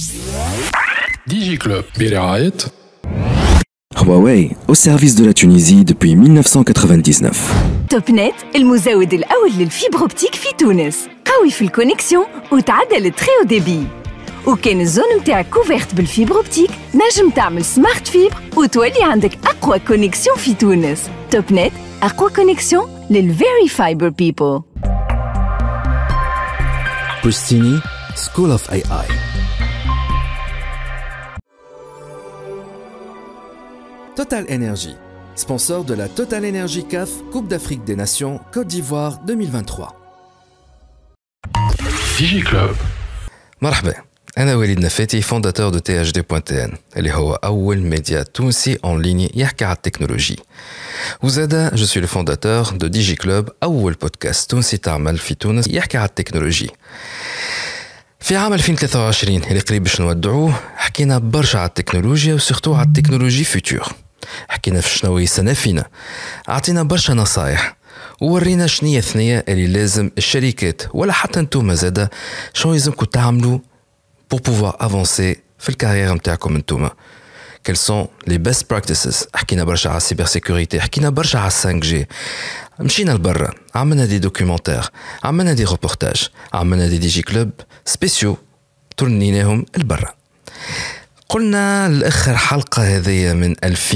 DigiClub برعاية Huawei, au service de la Tunisie depuis 1999. توبنت المزود الأول للفيبر أوبتيك في تونس. قوي في الكونيكسيون وتعدل التريو ديبي. وكان الزون متاعك كوفيرت بالفيبر أوبتيك نجم تعمل سمارت فيبر وتولي عندك أقوى كونيكسيون في تونس. توبنت أقوى كونيكسيون للفيري فايبر بيبل. Pristini, School of AI. Total Energy, sponsor de la Total Energy CAF Coupe d'Afrique des Nations Côte d'Ivoire 2023. DigiClub. مرحبا، أنا وليد نفاتي فونداتور دو THD.tn اللي هو أول ميديا تونسي أون ليني يحكي على التكنولوجي. وزادا جو سوي لو فونداتور دو DigiClub أول بودكاست تونسي تعمل في تونس يحكي على التكنولوجي. في عام 2023 اللي قريب باش نودعوه حكينا برشا على التكنولوجيا وسورتو على التكنولوجي فيتور. حكينا في شنو يسنى فينا، عطينا برشا نصايح وورينا شنية ثنية اللي لازم الشركات ولا حتى نتوما زادا شنو لازمكم تعملوا pour pouvoir avancer في الكارير نتاعكم نتوما. Quels sont les best practices؟ حكينا برشا على السيبر سيكوريتي، حكينا برشا على 5G. مشينا لبرا، عملنا دي دوكيومنتير، عملنا دي روبورتاج، عملنا دي ديجي كلوب سبيسيو ترنيناهم لبرا. قلنا الآخر حلقة هذية من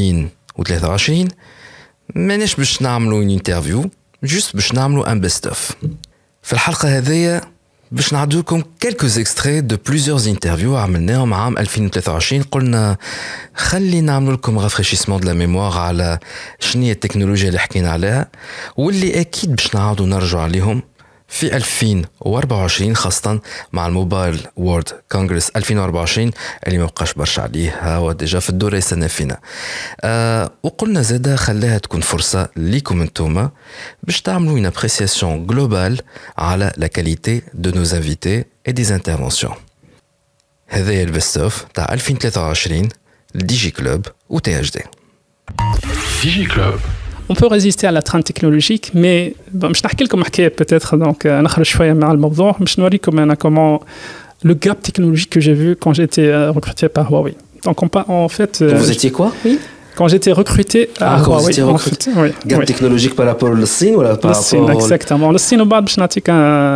2023 ماناش باش نعملوا انترفيو، جوست باش نعملوا ان بيست اوف. في الحلقة هذية باش نعدو لكم quelques extraits de plusieurs interviews عملناهم عام 2023. قلنا خلي نعمل لكم رافريشيسمون دو لا ميموار على شنية التكنولوجيا اللي حكينا عليها واللي أكيد باش نعاودوا نرجع عليهم في 2024 خاصة مع الموبايل وورد كونغرس 2024 اللي ما بقاش برشا عليه هو ديجا في الدورة يستنى فينا. وقلنا زادا خلاها تكون فرصة ليكم انتوما باش تعملوا une appréciation globale على la qualité de nos invités et des interventions. هذا هي البست اوف تاع 2023 لديجي كلوب و THD. DigiClub. On peut résister à la trend technologique, mais je vais vous raconter peut-être donc نخرج شوية مع الموضوع باش نوريكم أنا comment le gap technologique que j'ai vu quand j'étais recruté par Huawei. Donc en fait Vous étiez quoi? Oui. Quand j'étais recruté à Huawei. Vous étiez recruté. Oui. Gap technologique par rapport au Chine ou par rapport au exactement. Le Chine وبعد باش نعطيك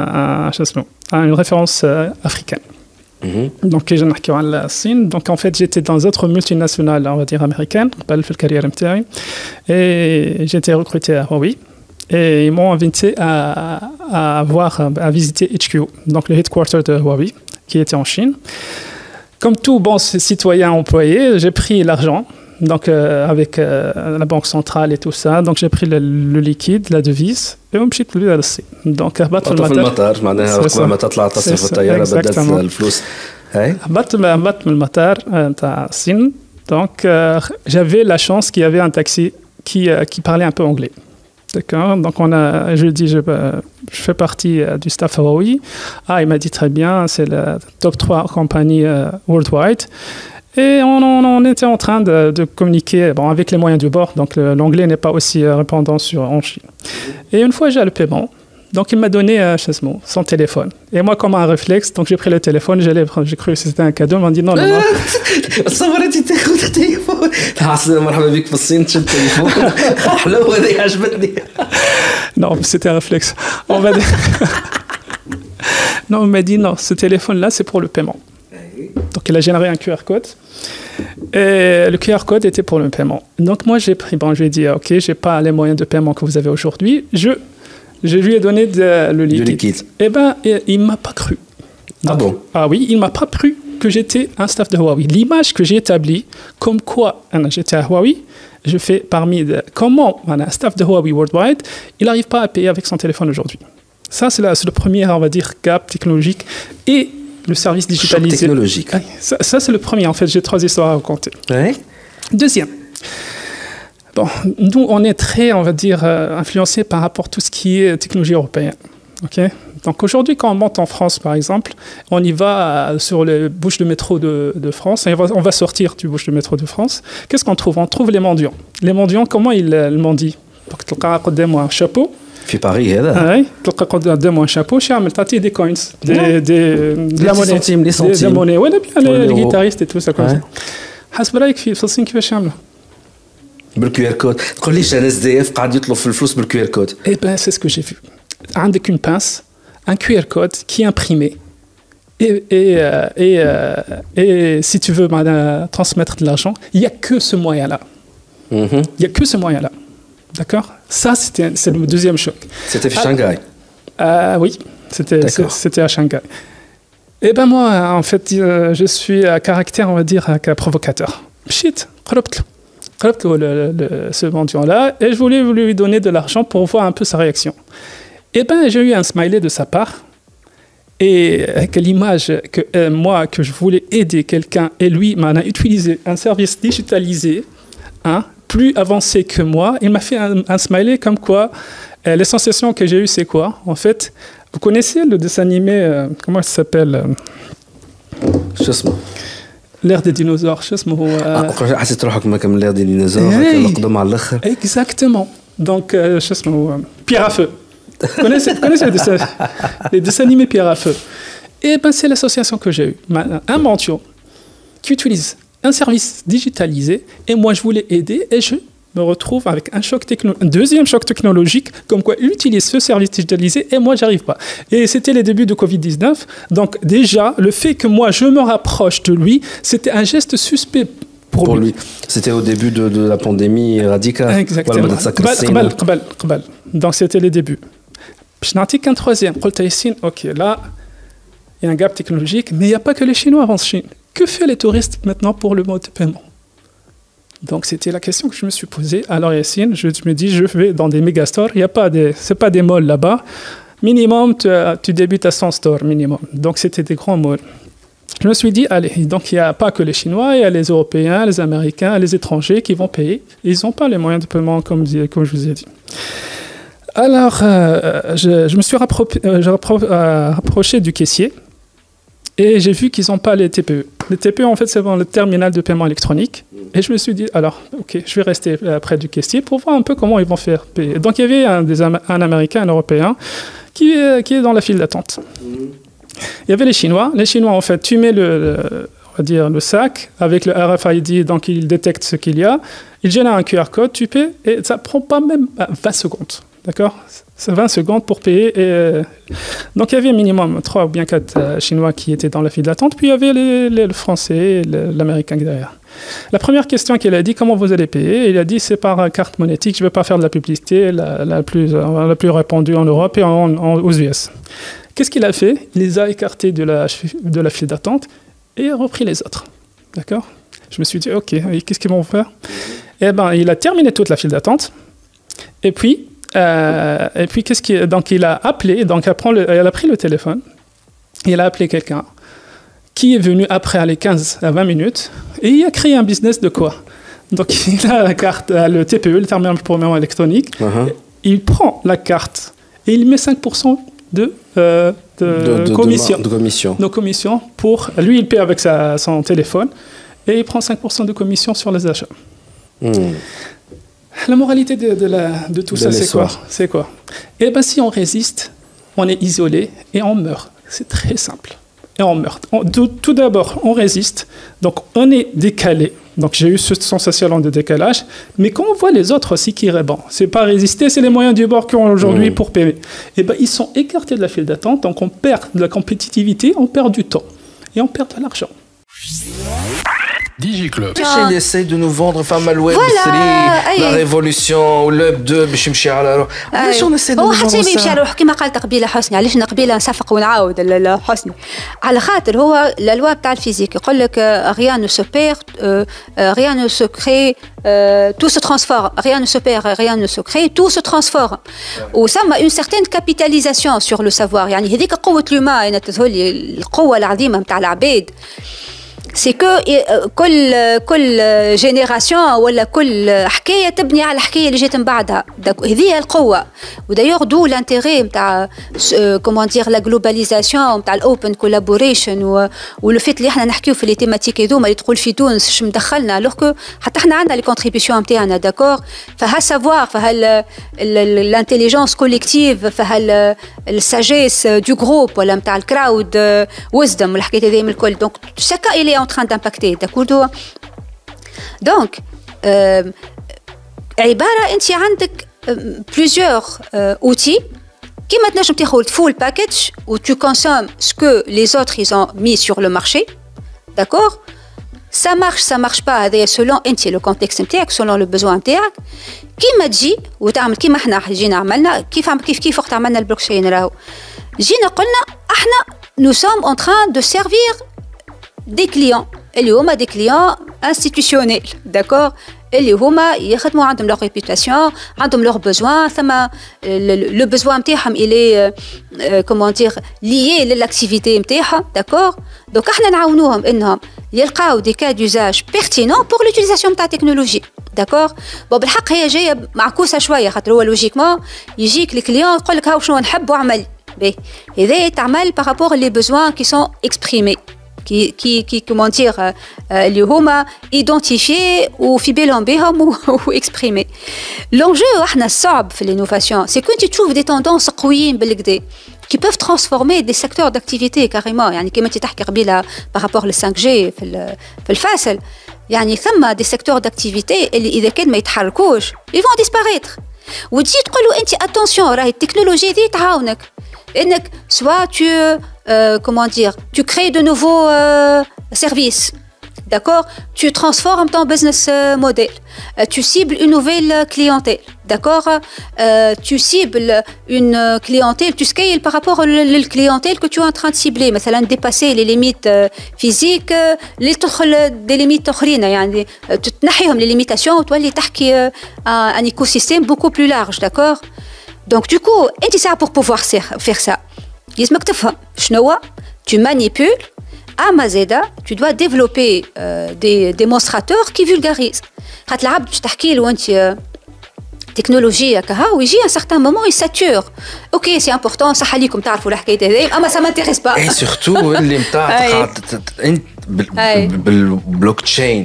une référence africaine. Donc j'ai نحكيو على الصين. Donc en fait j'étais dans d'autres multinationales on va dire américaines قبل في الكارير نتاعي et j'étais recruté à Huawei et ils m'ont invité à visiter HQ donc le headquarter de Huawei qui était en Chine. Comme tout bon citoyen employé, j'ai pris l'argent donc avec la banque centrale et tout ça. Donc j'ai pris le liquide, la devise et ومشيت للصين. Donc هبطت في المطار معناها قبل ما تطلع تصرف في الطيارة بدلت الفلوس. هبطت من المطار تاع الصين. Donc j'avais la chance qu'il y avait un taxi qui parlait un peu anglais. D'accord. Donc je fais partie du staff Huawei. Il m'a dit très bien, c'est la top 3 compagnie worldwide. Et on était en train de communiquer avec les moyens du bord. Donc l'anglais n'est pas aussi répandant en Chine. Et une fois j'ai le paiement, donc il m'a donné son téléphone. Et moi comme un réflexe, donc j'ai pris le téléphone, j'ai cru que c'était un cadeau, il m'a dit non. صورتي تاخذ التليفون مرحبا بك في الصين تشد التليفون حلوه هذه عجبتني. Non, c'était un réflexe. On va dire. Non, on m'a dit non, ce téléphone-là c'est pour le paiement. Donc il a généré un QR code et le QR code était pour le paiement. Donc moi j'ai pris, je lui ai dit ok, j'ai pas les moyens de paiement que vous avez aujourd'hui, je lui ai donné le liquide. Et il m'a pas cru. Donc, bon? Ah oui, il m'a pas cru que j'étais un staff de Huawei. L'image que j'ai établie, comme quoi j'étais à Huawei, je fais comment un staff de Huawei worldwide, il n'arrive pas à payer avec son téléphone aujourd'hui. Ça c'est le premier, on va dire, gap technologique et le service digitalisé. Choc technologique. Ça c'est le premier. En fait, j'ai 3 histoires à raconter. Ouais. Deuxième. Bon, nous, on est très, on va dire, influencé par rapport à tout ce qui est technologie européenne. Ok. Donc aujourd'hui, quand on monte en France, par exemple, on y va sur les bouches de métro de France. Et on va sortir du bouche de métro de France. Qu'est-ce qu'on trouve? On trouve les mendiants. Les mendiants, comment ils mendient? Donc, tu as un chapeau في باريس هذا اي تلقى قدامه شابو يعمل تعطيه دي كوينز دي لا موني لي سنتيم دي موني ولا بيان لي جيتاريست تو سا كوم حسب رايك في فلسطين كيفاش يعملوا بالكيو ار كود تقول ليش انا اس دي اف قاعد يطلب في الفلوس بالكيو ار كود اي بان سي سكو جي في عندك اون بانس un QR code qui est imprimé et si tu veux transmettre de l'argent, il n'y a que ce moyen-là. Il n'y a que ce moyen-là. D'accord? Ça, c'est le deuxième choc. C'était à Shanghai? Oui, c'était à Shanghai. Et ben moi, en fait, je suis à caractère, on va dire, provocateur. Shit, ce mendiant-là, et je voulais lui donner de l'argent pour voir un peu sa réaction. Et ben j'ai eu un smiley de sa part. Et avec l'image que moi, que je voulais aider quelqu'un, et lui m'a utilisé un service digitalisé, hein, plus avancé que moi. Il m'a fait un smiley comme quoi, les sensations que j'ai eues, c'est quoi? En fait, vous connaissez le dessin animé, comment ça s'appelle L'ère des dinosaures. حسيت روحك ما كمل l'ère des dinosaures, القدم على الآخر. Exactement. Donc, Pierre à feu. Vous connaissez les dessins animés Pierre à feu. Et ben c'est l'association que j'ai eue. Un mendiant qui utilise un service digitalisé et moi je voulais aider et je me retrouve avec un deuxième choc technologique comme quoi il utilise ce service digitalisé et moi j'arrive pas. Et c'était les débuts de Covid-19. Donc déjà le fait que moi je me rapproche de lui, c'était un geste suspect pour lui. C'était au début de la pandémie radicale. Exactement. Donc c'était les débuts. Je n'en ai qu'un troisième. Ok, là, il y a un gap technologique, mais il n'y a pas que les Chinois en Chine. Que fait les touristes maintenant pour le mode de paiement? Donc, c'était la question que je me suis posée. Alors, Yassine, je me dis, je vais dans des méga-stores. Ce n'est pas des malls là-bas. Minimum, tu débutes à 100 stores, minimum. Donc, c'était des grands malls. Je me suis dit, allez, donc il n'y a pas que les Chinois, il y a les Européens, les Américains, les étrangers qui vont payer. Ils n'ont pas les moyens de paiement, comme je vous ai dit. Alors, je me suis rapproché du caissier et j'ai vu qu'ils n'ont pas les TPE. Les TPE, en fait, c'est le terminal de paiement électronique. Et je me suis dit, alors, ok, je vais rester près du caissier pour voir un peu comment ils vont faire payer. Donc, il y avait un Américain, un Européen qui est dans la file d'attente. Il y avait les Chinois. Les Chinois, en fait, tu mets on va dire, le sac avec le RFID, donc il détecte ce qu'il y a. Il génère un QR code, tu paies et ça ne prend pas même 20 secondes. D'accord? C'est 20 secondes pour payer. Donc, il y avait minimum 3 ou bien 4 Chinois qui étaient dans la file d'attente. Puis, il y avait le Français et l'Américain derrière. La première question qu'il a dit, comment vous allez payer? Il a dit, c'est par carte monétique. Je ne vais pas faire de la publicité, la plus répandue en Europe et aux US. Qu'est-ce qu'il a fait? Il les a écartés de la file d'attente et a repris les autres. D'accord? Je me suis dit, OK, qu'est-ce qu'ils vont faire? Eh bien, il a terminé toute la file d'attente. Et puis, donc il a appelé, donc elle a pris le téléphone, il a appelé quelqu'un qui est venu après les 15 à 20 minutes et il a créé un business de quoi? Donc il a la carte, le TPE, le terminal pour paiement électronique, il prend la carte et il met 5% de commission. De commission pour lui, il paie avec son téléphone et il prend 5% de commission sur les achats. La moralité de tout ça, c'est quoi? Eh bien, si on résiste, on est isolé et on meurt. C'est très simple. Et on meurt. Tout d'abord, on résiste. Donc, on est décalé. Donc, j'ai eu cette sensation de décalage. Mais quand on voit les autres aussi qui répondent, c'est pas résister, c'est les moyens du bord qu'ils ont aujourd'hui pour payer. Eh bien, ils sont écartés de la file d'attente. Donc, on perd de la compétitivité, on perd du temps. Et on perd de l'argent. DigiClub. Il essaye de nous vendre فما الويب 3 la révolution والويب 2 باش يمشي على روح. علاش نسيت هو حتى يمشي على روح كما قالت قبيله حسني. علاش قبيله نصفق ونعاود حسني على خاطر هو الالوا تاع الفيزيك يقول لك rien ne se perd, rien ne se crée, tout se transforme, rien ne se perd, rien ne se crée, tout se transforme. وسما une certaine capitalisation sur le savoir. يعني هذيك قوه اليوم انا تظهر لي القوه العظيمه نتاع العباد. سي كو كل جينيراسيون ولا كل حكايه تبني على الحكايه اللي جات من بعدها. هذه القوه. ودايوغ دو لانتيغي نتاع كومون دير لا جلوباليزاسيون نتاع الاوبن كولابوريشن ولو فيت اللي احنا نحكيو في لي تيماتيك هذوما اللي تقول في تونس اش مدخلنا الوغ كو حتى احنا عندنا لي كونتريبيسيون نتاعنا داكور. فها سافوار فها الانتيليجنس كوليكتيف فها الساجيس دو جروب ولا نتاع الكراود ويزدم والحكايات هذه من الكل. دونك شاكا il est en train d'impacter d'accord. Donc عباره انت عندك plusieurs outils qui maintenant je t'ai full package où tu consommes ce que les autres ils ont mis sur le marché d'accord. ça marche pas هذا selon انت le contexte نتاعك selon le besoin نتاعك كيما تجي وتعمل كيما احنا جينا عملنا كيف وقت عملنا البلوكشين راهو جينا قلنا احنا nous sommes en train de servir des clients اللي هما des clients institutionnels d'accord اللي هما يخدموا عندهم leur réputation عندهم leurs besoins ثم le besoin نتاعهم il est comment dire lié للاكتيفيتي نتاعهم d'accord. donc احنا نعاونوهم انهم يلقاو des cas d'usage pertinents pour l'utilisation نتاع التكنولوجي d'accord. بالحق هي جايه معكوسه شويه خاطر هو لوجيكمون يجيك الكليون يقول لك هاو شنو نحب واعمل به هذا يتعمل par rapport les besoins qui sont exprimés qui comment dire اللي هما identifiés وفي بالهم بهم وexprimés. l'enjeu احنا الصعب في l'innovation c'est que tu trouves des tendances قويين بالكدا qui peuvent transformer des secteurs d'activité carrément. يعني كما تحكي قبيله par rapport le 5G في الفاصل يعني ثم des secteurs d'activité اللي اذا كان ما يتحركوش ils vont disparaître. وتجي تقول له انت attention راهي التكنولوجيا دي تعاونك انك soit comment dire tu crées de nouveaux services d'accord. tu transformes ton business model tu cibles une nouvelle clientèle d'accord. tu cibles une clientèle tu scales par rapport à la clientèle que tu es en train de cibler مثلا dépasser les limites physiques اللي تدخل des limites اخرين يعني تنحيهم les limitations وتولي تحكي un écosystème beaucoup plus large d'accord. donc du coup انت ساعه pour pouvoir faire ça لازمك تفهم شنو tu manipules اما زاده tu dois développer des démonstrateurs qui vulgarisent. خاطر العبد باش تحكي له انت تكنولوجيا كها ويجي ان سارتان مومون يساتور اوكي سي امبورطون صح عليكم تعرفوا الحكايه هذه اما سا مانتيريس با اي سورتو اللي نتاع انت بالبلوك تشين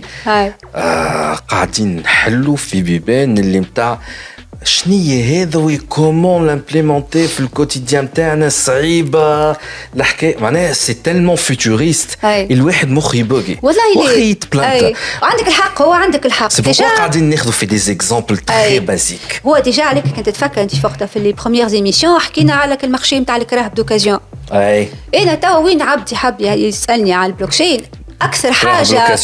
قاعدين نحلوا في بيبان اللي نتاع شنية هذا وكومون لامبليمونتي في الكوتيديان تاعنا صعيبه الحكايه معناها سي تالمون فيوتوريست الواحد مخ يبوغي والله يتبلانتا. عندك الحق هو عندك الحق سي بوركوا قاعدين ناخذوا في دي زيكزامبل تري بازيك. هو ديجا عليك كنت تفكر انت وقتها في لي بروميير ايميسيون حكينا على المارشي نتاع الكراهب دوكازيون. انا توا وين عبدي حاب يسالني على البلوكشين اكثر حاجه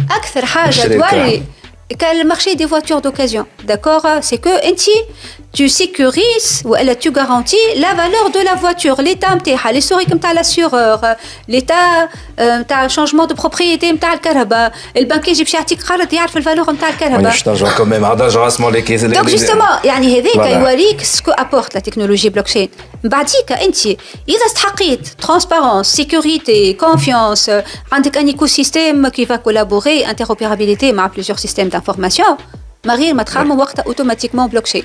توري le marché des voitures d'occasion, d'accord. c'est que tu sécurises ou tu garantis la valeur de la voiture, l'état نتاعها, l'historique نتاع l'assureur, l'état نتاع changement de propriété نتاع الكهرباء, البنك يجي باش يعطيك قرض يعرف الفالور نتاع الكهرباء. مش نرجع كمان عاد راسمون لي كيس. donc justement يعني هذاك يوريك سكو apporte la technologie blockchain. بعديك انت اذا استحقيت transparence, sécurité, confiance, عندك un écosystème qui va collaborer, interopérabilité مع plusieurs systèmes d'information, ما غير ما تخمم وقتها اوتوماتيكمون بلوكشين.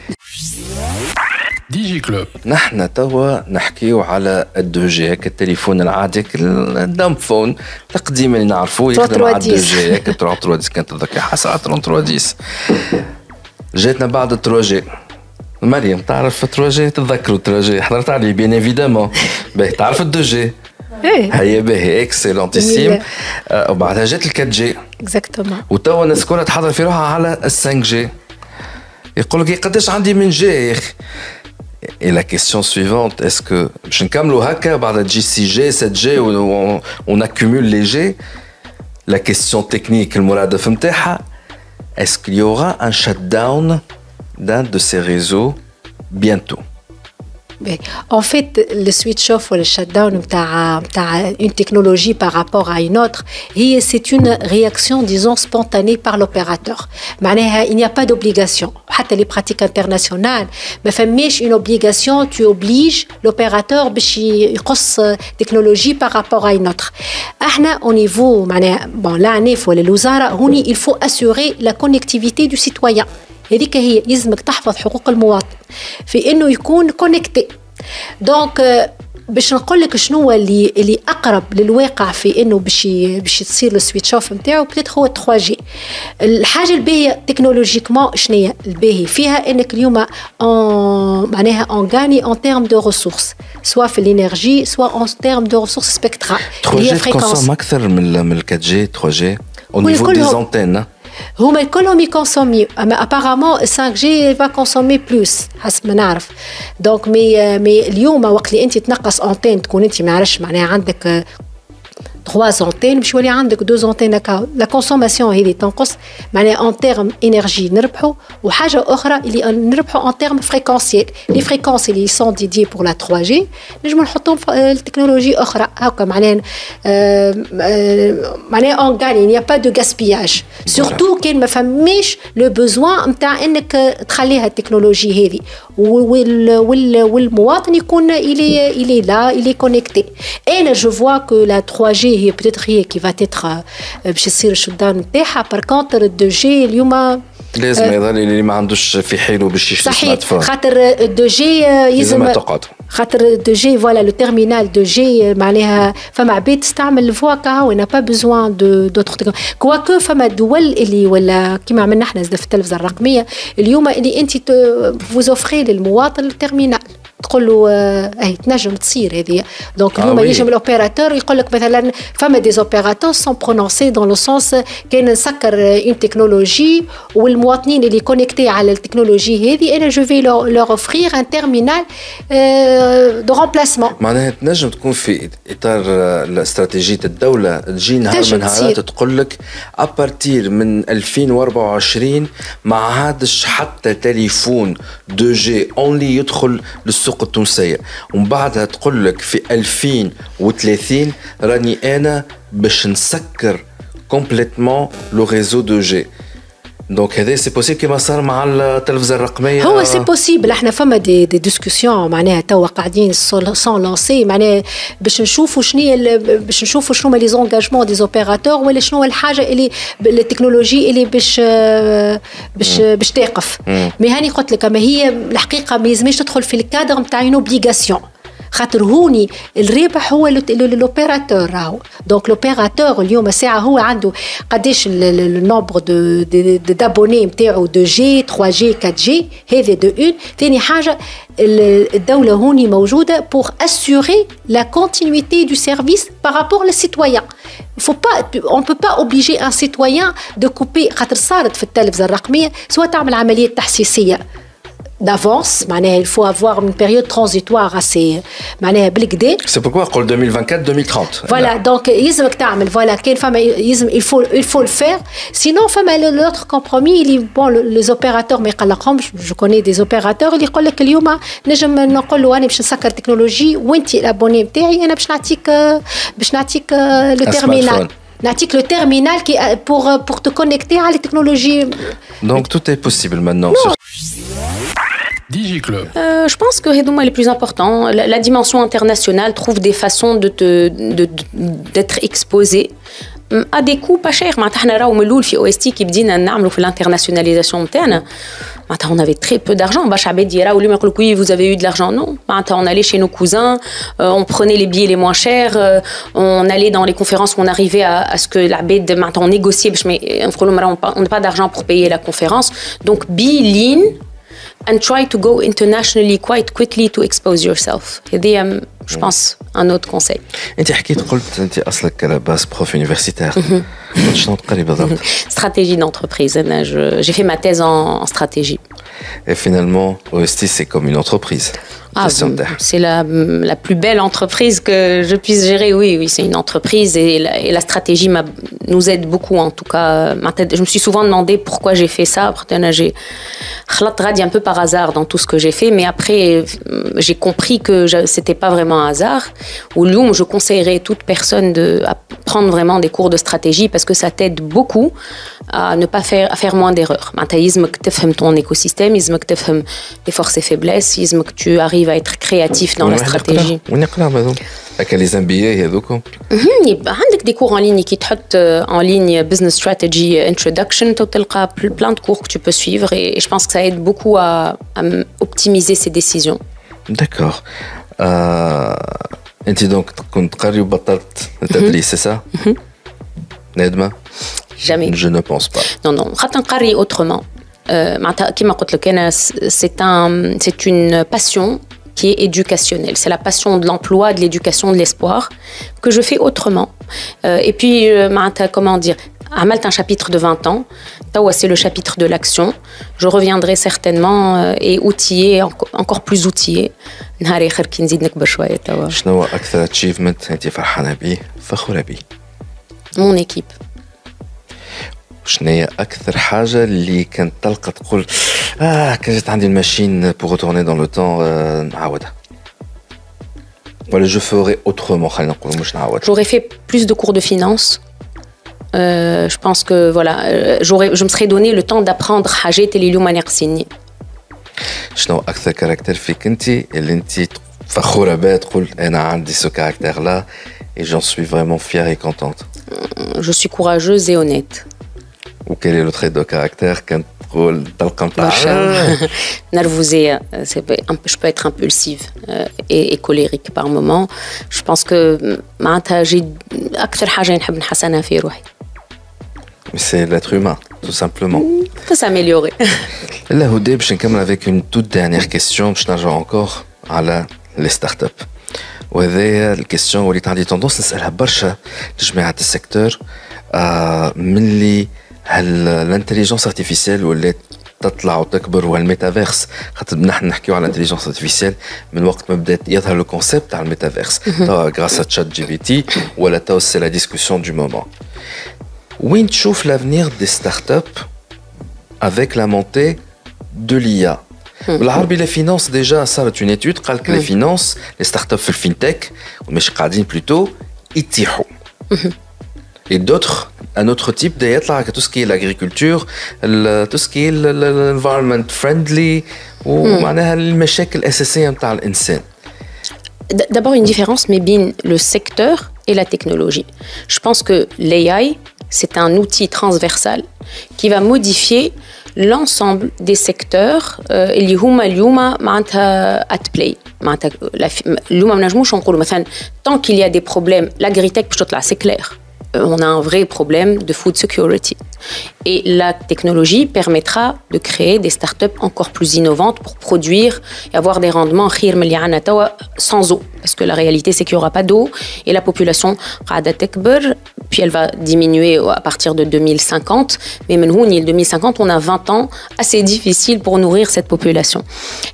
ديجي كلوب نحن توا نحكيو على الدو جي هكا التليفون العادي الدم فون القديم اللي نعرفوه يخدم على الدو جي هكا 3310 كانت تذكر حسا 3310 جاتنا بعد 3 جي. مريم تعرف 3 جي تتذكروا 3 جي حضرت عليه بيان ايفيدامون باهي تعرف الدو جي هيا باهي اكسلونتيسيم وبعدها جات ال 4 جي اكزاكتومون وتوا الناس كلها تحضر في روحها على ال 5 جي. يقول لك قداش عندي من جي يا اخي. Et la question suivante, est-ce que je نكملوا هكا بعد تجي 6G 7G on accumule les G. La question technique المرادف نتاعها est-ce qu'il y aura un shutdown d'un de ces réseaux bientôt. En fait, le switch-off ou le shutdown une technologie par rapport à une autre, c'est une réaction, disons, spontanée par l'opérateur. Il n'y a pas d'obligation. Même les pratiques internationales, mais une obligation, tu obliges l'opérateur à يقص technologie par rapport à une autre. Au niveau, il faut assurer la connectivité du citoyen. هذيك هي يلزمك تحفظ حقوق المواطن في انه يكون كونكتي. دونك باش نقول لك شنو اللي اقرب للواقع في انه باش تصير السويتش اوف نتاعو بتيت هو 3 جي. الحاجه الباهيه تكنولوجيكمون شنو الباهي فيها انك اليوم معناها اون غاني اون تيرم دو ريسورس سواء في الانرجي سواء اون تيرم دو ريسورس سبيكترال 3 جي تكونسوم اكثر من 4 جي 3 جي au niveau des antennes. هما كلهم يكونسوميو اما ابارامون 5 جي va consommer plus حسب ما نعرف. دونك مي اليوم وقت اللي انت تنقص انتين تكون انت ما عرفش معناها عندك 3 انتين باش يولي عندك 2 انتين هكا. لا كونسوماسيون هذه تنقص معناها ان تيرم انرجي نربحوا وحاجه اخرى اللي نربحوا ان تيرم فريكونسيال. لي فريكونس اللي سون ديدي بور لا 3 جي نجموا نحطوهم في التكنولوجي اخرى هكا معناها اون غاني نيا با دو غاسبياج سورتو كان ما فماش لو بوزوان نتاع انك تخليها التكنولوجي هذه والمواطن يكون الي لا الي كونيكتي. انا جو فوا كو لا 3 جي هي peut-être هي كي va être باش يصير الشوت داون نتاعها. بار كونتر 2 جي اليوم لازم يظل اللي ما عندوش في حيله باش يشري سمارت فون. خاطر 2 جي يلزم تقعد خاطر 2 جي فوالا لو تيرمينال 2 جي معناها فما عباد تستعمل الفوا كاو انا با بوزوان دوتر كواكو فما دول اللي ولا كيما عملنا احنا في التلفزه الرقميه اليوم اللي انت فوزوفري للمواطن التيرمينال تقول له اي تنجم تصير هذه. دونك اليوم يجي الاوبيراتور يقول لك مثلا فما دي اوبيراتور سون برونونسي دون لو سونس كان نسكر اون تكنولوجي والمواطنين اللي كونيكتي على التكنولوجي هذه انا جو في لور اوفرير ان تيرمينال دو رومبلاسمون. معناها تنجم تكون في اطار استراتيجيه الدوله تجي نهار من نهارات تقول لك ابارتير من 2024 ما عادش حتى تليفون 2 جي اونلي يدخل للسوق التونسيه ومن بعدها تقول لك في 2030 راني انا باش نسكر كومبليتمون لو ريزو 2 جي. دونك هذا سي بوسيبل كيما صار مع التلفزه الرقميه. هو سي بوسيبل. احنا فما دي ديسكوسيون معناها توا قاعدين سون لانسي معناها باش نشوفوا باش نشوفوا شنو لي زونغاجمون دي اوبيراتور ولا شنو الحاجه اللي التكنولوجي اللي باش تقف. مي هاني قلت لك اما هي الحقيقه ما يلزمش تدخل في الكادر نتاع اون اوبليغاسيون خاطر هوني الربح هو لوبيراتور راهو. دونك لوبيراتور اليوم ساعه هو عنده قداش النومبر دو دابوني نتاعو 2 جي 3 جي 4 جي هذا دو اون. ثاني حاجه الدوله هوني موجوده بور اسيوري لا كونتينيتي دو سيرفيس بارابور للسيتويان. on peut pas obliger un citoyen de couper خاطر صارت في التلفزه الرقميه سواء تعمل عمليه تحسيسيه d'avance معناها il faut avoir une période transitoire assez معناها بالكدا. C'est pourquoi قول 2024-2030. Voilà donc يلزمك تعمل فوالا كاين فما يلزم il faut le faire sinon فما l'autre compromis اللي bon les opérateurs ما يقلقهمش. je connais des opérateurs اللي يقول لك اليوم نجم نقول له انا باش نسكر تكنولوجي وانت الابوني نتاعي انا باش نعطيك لو تيرمينال نعطيك لو تيرمينال كي pour te connecter على التكنولوجي. Donc tout est possible maintenant. DigiClub. Je pense que c'est les plus importants. La dimension internationale trouve des façons d'être exposée à des coûts pas chers. معناتها راهو من الاول في OST كي بدينا نعملوا في الانترناسيوناليزاسيون نتاعنا معناتها on avait très peu d'argent. باش عباد يراو اليوم يقولوا oui vous avez eu de l'argent. Non, معناتها on allait chez nos cousins, on prenait les billets les moins chers, on allait dans les conférences où on arrivait à ce que l'عباد معناتها on négociait باش نقولوا on n'a pas d'argent pour payer la conférence. Donc be lean and try to go internationally quite quickly to expose yourself. هذه je pense un autre conseil. انت حكيت قلت انت اصلك على باس بروف يونيفرسيتير. شنو تقري بالضبط؟ Stratégie d'entreprise. J'ai fait ma thèse en stratégie. Et finalement, OST, c'est comme une entreprise. C'est la plus belle entreprise que je puisse gérer. Oui, c'est une entreprise et la stratégie nous aide beaucoup en tout cas. Je me suis souvent demandé pourquoi j'ai fait ça. J'ai un peu par hasard dans tout ce que j'ai fait, mais après j'ai compris que c'était pas vraiment un hasard. Ou Lyoum, je conseillerais toute personne à prendre vraiment des cours de stratégie parce que ça t'aide beaucoup à ne pas faire moins d'erreurs. لازمك تفهم ton écosystème, لازمك تفهم les forces et faiblesses, لازمك tu arrives à être créatif dans la stratégie. ونقرا هذوك هكا لي زامبيي هذوكم. يبقى عندك des cours en ligne qui تحط en ligne business strategy introduction, تلقى plein de cours que tu peux suivre et je pense que ça aide beaucoup à optimiser ses décisions. D'accord. انت دونك كنت قاري وبطلت التدريس c'est ça? نادمة؟ Jamais. Je ne pense pas. Non. خاطر نقري autrement. كما قلت لك أنا c'est une passion qui est éducationnelle. C'est la passion de l'emploi, de l'éducation, de l'espoir que je fais autrement. Et puis, comment dire, عملت un chapitre de 20 ans. C'est le chapitre de l'action. Je reviendrai certainement et outillé, encore plus outillé. نهار آخر كي نزيد نكبر شوية توا. شنو هو أكثر achievement أنت فرحانة به فخورة به؟ Mon équipe. شنو هي أكثر حاجة اللي كانت تلقى تقول كان جات عندي الماشين pour retourner dans le temps نعاودها. Voilà, je ferai autrement. خلينا نقول مش نعاود. J'aurais fait plus de cours de finance. Je pense que voilà, je me serais donné le temps d'apprendre حاجات اللي اليوم ناقصيني. شنو أكثر كاركتير فيك أنت اللي أنت فخورة به تقول أنا عندي ce caractère là et j'en suis vraiment fière et contente. Je suis courageuse et honnête. Ou quel est le trait de caractère quand nervosée, je peux être impulsive et colérique par moment. Je pense que j'ai أكثر حاجة نحب نحسنها في روحي. C'est l'être humain, tout simplement. On peut s'améliorer. Là, Houdé, je vais avec une toute dernière question. Je n'arrive encore à les startups. وهذه الكيستيون اللي عندي تندونس نسالها برشا لجماعه السيكتور من اللي الانتليجنس ارتيفيسيال ولات تطلع وتكبر والميتافيرس خاطر نحن نحكيو على الانتليجنس ارتيفيسيال من وقت ما بدات يظهر لو كونسيبت تاع الميتافيرس توا غراس ا تشات جي بي تي ولا توا سي لا ديسكوسيون دو مومون وين تشوف لافنير دي ستارت اب avec la montée de l'IA. بالعربي لا فينانس ديجا صارت اون ايتود قال لك لا فينانس لي ستارت اب في الفينتك ومش قاعدين بلوتو يتيحوا. Et d'autres, un autre type d'être tout ce qui est l'agriculture, tout ce qui est l'environment friendly ou les مشاكل الأساسية متاع الإنسان. D'abord une différence mais bien le secteur et la technologie. Je pense que l'AI c'est un outil transversal qui va modifier l'ensemble des secteurs اللي هما اليوم معناتها at play. معناتها اليوم ما نجموش نقولوا مثلا tant qu'il y a des problèmes l'agritech باش تطلع c'est clair. On a un vrai problème de food security. Et la technologie permettra de créer des startups encore plus innovantes pour produire et avoir des rendements sans eau. Parce que la réalité, c'est qu'il n'y aura pas d'eau et la population puis elle va diminuer à partir de 2050. Mais maintenant, 2050, on a 20 ans assez difficiles pour nourrir cette population.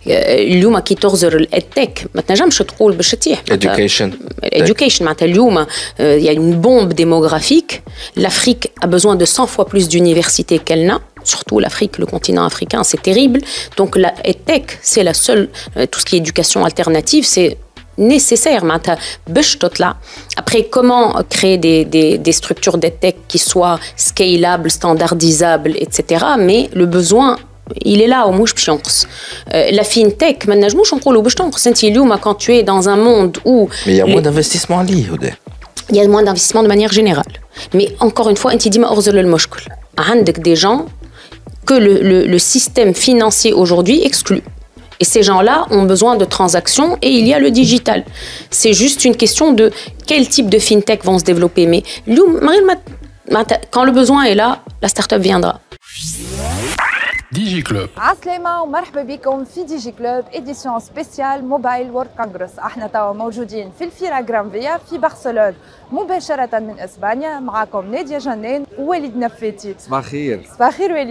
Education. Il y a une bombe démographique. L'Afrique a besoin de 100 fois plus d'universités qu'elle n'a. Surtout l'Afrique, le continent africain, c'est terrible. Donc la EdTech, c'est la seule, tout ce qui est éducation alternative, c'est nécessaire. Après, comment créer des structures d'EdTech qui soient scalables, standardisables, etc. Mais le besoin, il est là au mouche pchonks. La fintech, quand tu es dans un monde où... Mais il y a moins d'investissement à l'IA. Il y a moins d'investissement de manière générale. Mais encore une fois, عندك des gens que le système financier aujourd'hui exclut. Et ces gens-là ont besoin de transactions et il y a le digital. C'est juste une question de quel type de fintech vont se développer. Mais quand le besoin est là, la start-up viendra. DigiClub. عسلامة ومرحبا بكم في ديجي كلوب إديسيون سبيسيال موبايل وورد كونغرس. احنا توا موجودين في الفيرا جرانفيا في برشلونة مباشرة من اسبانيا. معاكم نادية جنان ووليد نفاتي. صباح الخير. صباح الخير وليد.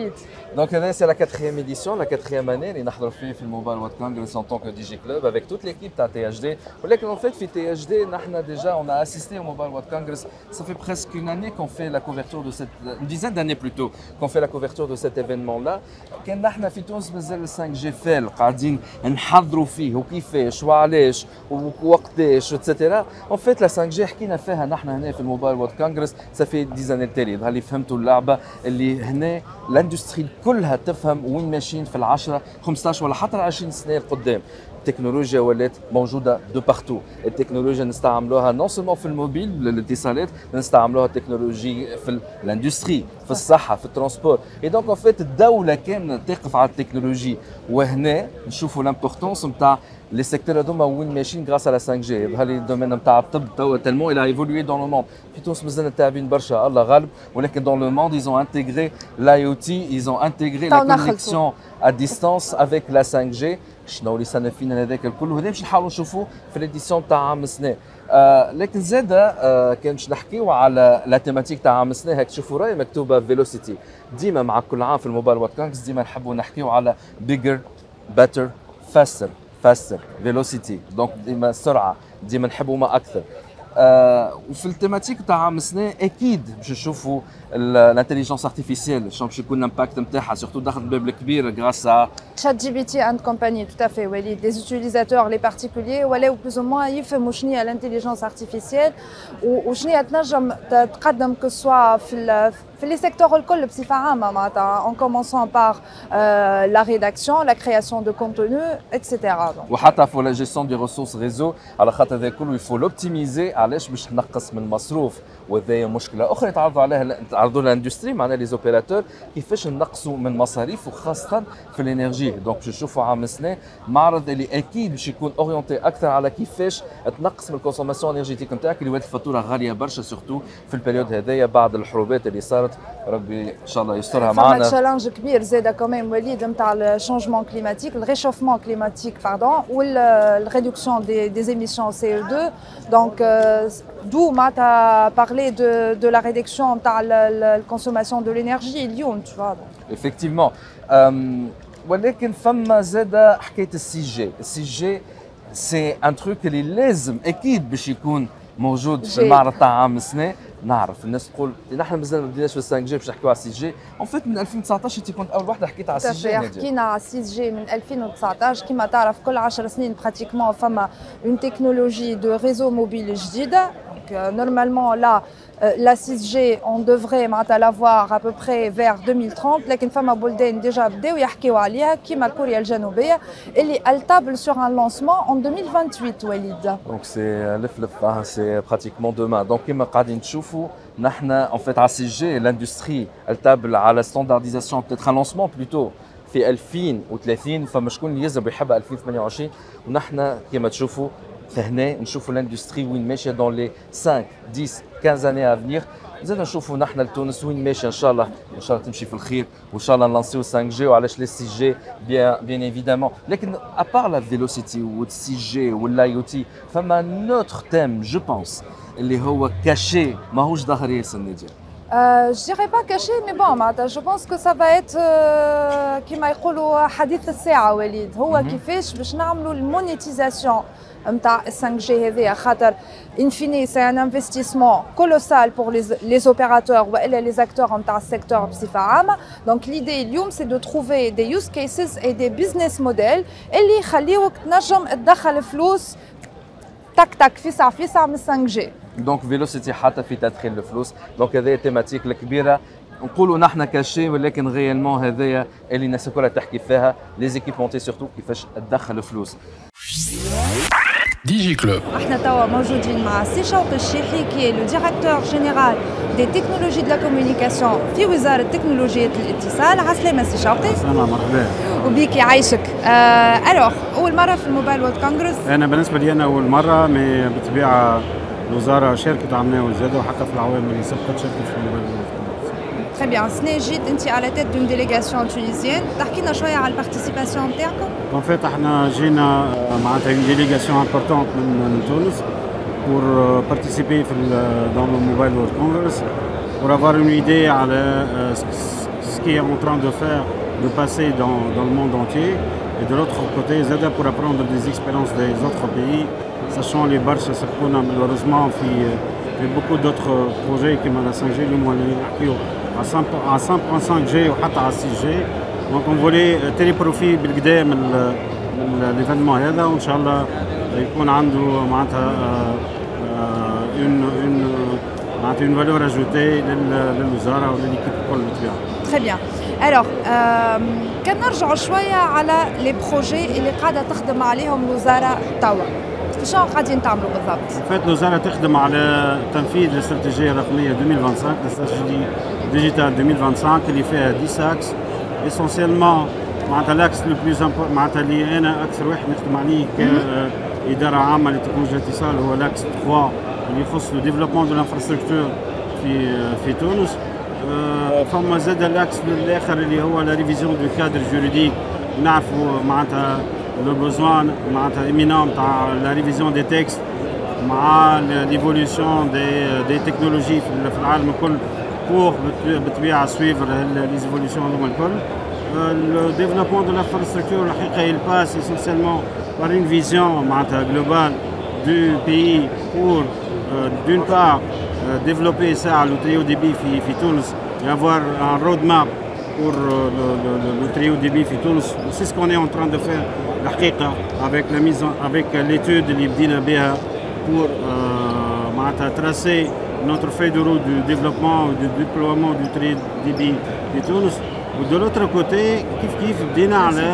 Donc c'est la 4e édition, la 4e année اللي نحضر فيه في الموبايل وورد كونغرس en tant que DJ Club avec toute l'équipe تاع THD. ولكن en fait في THD نحن déjà on a assisté au Mobile World Congress. Ça fait presque une année qu'on fait la couverture de cette une dizaine d'années plutôt qu'on fait la couverture de cet événement là. كان نحن في تونس مازال 5G فال قاعدين نحضروا فيه وكيفاش وعلاش ووقتاش etc. En fait la 5G حكينا فيها نحن هنا في الموبايل وورد كونغرس ça fait 10 années التالي. يظهر لي فهمتوا اللعبه اللي هنا الاندستري كلها تفهم وين ماشيين في 10 15 ولا حتى 20 سنه القدام. التكنولوجيا ولات موجوده دو بارتو. التكنولوجيا نستعملوها نون سولمون في الموبيل الاتصالات، نستعملوها التكنولوجي في الاندستري، في الصحه، في الترونسبور. اي دونك ان فيت الدوله كامله تقف على التكنولوجي، وهنا نشوفوا لامبورطونس نتاع لي سيكتور هذوما وين ماشيين غراس على 5G. يظهر لي الدومين نتاع الطب توا تالمون الى ايفولوي دون لو موند. في تونس مازلنا تاعبين برشا الله غالب، ولكن دون لو موند ils ont intégré l'IoT, ils ont intégré la connexion à distance avec la 5G. شنو اللي صار فينا هذاك الكل، وهذا باش نحاولوا نشوفوه في الاديسيون تاع عام السنه. لكن زاده كان باش نحكيو على لا تيماتيك تاع عام السنه. هاك تشوفوا راهي مكتوبه فيلوسيتي. ديما مع كل عام في الموبايل وورد كونغرس ديما نحبوا نحكيو على بيجر بيتر فاستر فيلوسيتي. دونك ديما سرعه، ديما نحبوا ما اكثر. وفي التيماتيك تاع عام السنه اكيد باش نشوفوا الانتيليجنس ارتيفيسيال شنو باش يكون الامباكت نتاعها، سورتو دخل الباب الكبير غراس ا ChatGPT and compagnie. Tout à fait, oui. Les utilisateurs, les particuliers, ولا plus ou moins يفهموا شنو هي l'intelligence artificielle وشنو هي تنجم تقدم que soit في les secteurs الكل بصفه عامه معناتها en commençant par la rédaction, la création de contenu, etc. وحتى في la gestion des ressources réseau. على خاطر هذا كله يفو لوبتيميزي. علاش؟ باش تنقص من المصروف، وهذا مشكله اخرى يتعرضوا لها الاندستري معنا لي زوبيراتور كيفاش نقصوا من مصاريف وخاصه في الانرجي. دونك باش نشوفوا عام السنه معرض اللي اكيد باش يكون اورينتي اكثر على كيفاش تنقص من الكونسوماسيون انرجيتيك نتاعك اللي ولات الفاتوره غاليه برشا، سورتو في البريود هذايا بعد الحروبات اللي صارت. ربي ان شاء الله يسترها معنا. فما تشالنج كبير زاده كمان وليد نتاع الشونجمون كليماتيك، الريشوفمون كليماتيك باردون، والريدكسيون دي émissions CO2. Donc d'où معناتها parler de la réduction تاع la consommation de l'énergie اليوم tu vois. Effectivement. ولكن فما زاده حكايه السي جي. السي جي سي ان تروك اللي لازم اكيد باش يكون موجود في المعرض تاع عام السنه. نعرف الناس تقول نحن مازال ما بديناش في 5 جي باش نحكيو على 6 جي. اون فيت من 2019 انت كنت اول وحده حكيت على 6 جي. حكينا على 6 جي من 2019. كما تعرف كل 10 سنين براتيكمون فما اون تكنولوجي دو ريزو موبيل جديده. Normalement là la 6G on devrait l'avoir à peu près vers 2030. لكن فما بلدان ديجا بداو يحكيو عليها كيما كوريا الجنوبيه اللي elle table sur un lancement en 2028 وليد. Donc c'est c'est pratiquement demain. Donc كيما قاعدين تشوفوا نحن en fait على 6G l'industrie elle table على standardisation peut-être un lancement plutôt في 2030. فما شكون يلزم يحب 2028 ونحن كيما تشوفوا فهنا نشوفوا الاندستري وين ماشيه دون لي 5 10 15 اني افنيغ. زاد نشوفوا نحن لتونس وين ماشيه. ان شاء الله تمشي في الخير وان شاء الله نلانسيو 5 جي. وعلاش لي 6 جي بيان ايفيدامون. لكن ابار لا فيلوسيتي وال 6 جي والاي او تي فما نوتر تيم جو بونس اللي هو كاشي ماهوش ظاهر ياسر ناديه. Je dirais pas caché, mais bon, je pense que ça va être كما يقولوا حديث الساعة وليد. هو كيفاش باش نعملوا المونيتيزاسيون نتاع 5G هذيا، خاطر in fine c'est un investissement colossal pour les opérateurs والا les acteurs نتاع السيكتور بصفة عامة. Donc l'idée اليوم c'est de trouver des use cases et des business models اللي يخليوك تنجم تدخل فلوس تك في ساعة من 5G. دونك فيلوسيتي حتى في تدخيل الفلوس. دونك هذه التيماتيك الكبيره نقولوا نحن كاشي، ولكن غيالمون هذايا اللي الناس كلها تحكي فيها لي زيكيبمونتي سورتو كيفاش تدخل فلوس. دي جي كلوب. احنا توا موجودين مع سي شوقي الشيحي كي لو ديريكتور جينيرال دي تكنولوجي دو لا كومونيكاسيون في وزاره تكنولوجيا الاتصال. عسلامة سي شوقي. سلام مرحبا. وبيك يعيشك. الوغ اول مره في الموبايل وورد كونغرس. انا بالنسبه لي انا اول مره، مي بالطبيعه الوزاره شاركت عملنا وزاده، وحتى في العوام اللي سبقت شاركت في الموبايل وورد كونغرس. Très bien. السنة جيت أنت على tête d'une délégation tunisienne. تحكي لنا شوية على البارتيسيباسيون نتاعكم. En fait احنا جينا معناتها une délégation importante من تونس pour participer dans le Mobile World Congress pour avoir une idée على ce qui est en train de faire, de passer dans le monde entier. Et de l'autre côté, Zada pour apprendre des expériences des autres pays, sachant les barches, malheureusement, il y a beaucoup d'autres projets qui m'ont 5G, à 5.5G ou à 6G. Donc on voulait tirer profit من l'événement هذا وإن شاء الله يكون عنده معناتها une valeur ajoutée للوزارة وللإيكيب الكل بالطبيعة. Très bien. Alors, كان نرجعوا شوية على لي بروجي اللي قاعدة تخدم عليهم الوزارة توا. شنو قاعدين تعملوا بالضبط؟ فات الوزارة تخدم على تنفيذ الاستراتيجية الرقمية 2025 الاستراتيجية ديجيتال 2025 اللي فيها 10 اكس essentiellement معناتها الاكس لو بلوز معناتها اللي انا اكثر واحد نخدم عليه كإدارة عامة لتكنولوجيا الاتصال هو الاكس 3 اللي يخص لو ديفلوبمون دو لانفراستركتور في تونس. فما زاد الاكس الاخر اللي هو لا ريفيزيون دو كادر جوريديك نعرفوا معناتها لو بوزوان معناتها ايمينون تاع لا ريفيزيون دي تكست مع ليفوليسيون دي تكنولوجي في العالم الكل بور بالطبيعه سويفر ليزيفوليسيون هذوما الكل. Le développement de l'infrastructure, il passe essentiellement par une vision globale du pays pour, d'une part, développer ça à le très haut débit في Tunis et avoir un roadmap pour le très haut débit في Tunis. C'est ce qu'on est en train de faire avec l'étude اللي بدينا بها pour tracer notre feuille de route du développement et du déploiement du très haut débit في Tunis. De l'autre côté, كيف بدينا على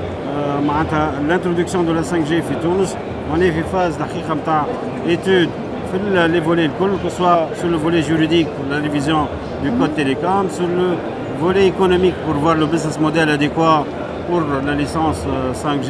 معناتها l'introduction de la 5G في تونس. On est في phase دقيقة نتاع étude في les volets الكل, que ce soit sur le volet juridique pour la révision du code télécom, sur le volet économique pour voir le business model adéquat pour la licence 5G,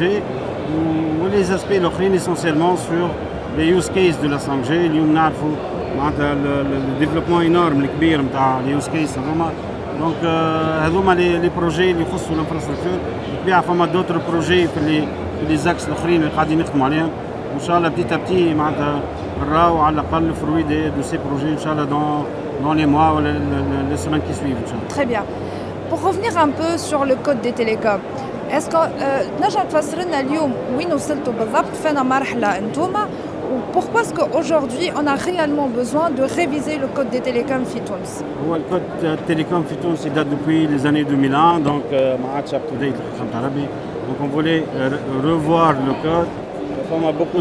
ou les aspects l'autres essentiellement sur les use cases de la 5G. اليوم نعرفوا معناتها le développement énorme الكبير نتاع les use cases هذوما. دونك هذوما لي بروجي اللي يخصوا الانفراستركتور. بالطبيعه فما دوتر بروجي في لي زاكس الاخرين اللي قاعدين نخدموا عليهم وان شاء الله بتيتا بتي معناتها نراو على الاقل فروي دو سي بروجي ان شاء الله dans les mois ولا les semaines qui suivent ان شاء الله. Très bien. Pour revenir un peu sur le code des télécoms, est-ce que تنجم تفسر لنا اليوم وين وصلتوا بالضبط فين مرحله انتوما pourquoi est-ce qu'aujourd'hui on a réellement besoin de réviser le code des télécoms في تونس؟ هو الكود télécom في تونس date depuis les années 2001 donc ما عادش up to date فهمت عربي. Donc on voulait revoir le code. فما beaucoup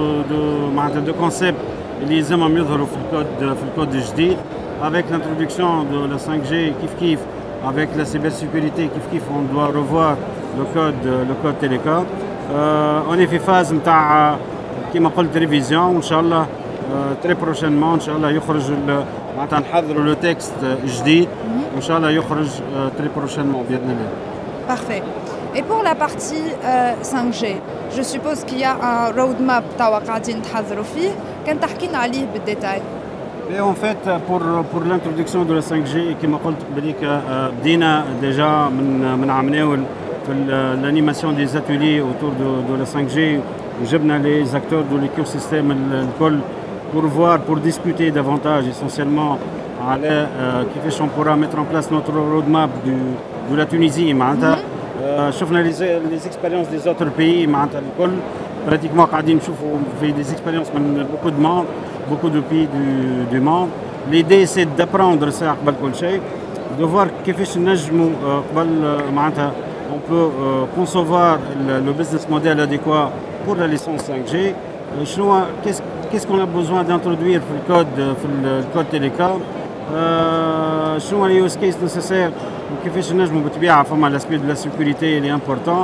de معناتها de concepts اللي لازمهم يظهروا في الكود الجديد avec l'introduction de la 5G كيف avec la cybersécurité كيف on doit revoir le code télécom. On est في phase نتاع كما قلت ريفيزيون وان شاء الله تري بروشينمون ان شاء الله يخرج معناتها نحضروا لو تكست جديد وان شاء الله يخرج تري بروشينمون باذن الله. Parfait. Et pour la partie 5G, je suppose qu'il y a un roadmap توا قاعدين تحضروا فيه. كان تحكينا عليه بالديتاي. Et en fait pour l'introduction de la 5G كما قلت قبليك بدينا ديجا من عمناول في l'animation des ateliers autour de la 5G. وجبنا les acteurs de l'écosystème الكل pour discuter davantage essentiellement على كيفاش on pourra mettre en place notre roadmap de la Tunisie معناتها. شفنا les expériences des autres pays معناتها الكل pratiquement قاعدين نشوفوا في des expériences من beaucoup de pays du monde. L'idée c'est d'apprendre ça قبل كل شيء, de voir كيفاش نجموا قبل معناتها on peut concevoir le business model adéquat pour la licence 5G. Qu'est-ce qu'on a besoin d'introduire dans le code télécom, شنو les use cases nécessaires وكيفاش نجموا بالطبيعة فما l'aspect de la sécurité il est important.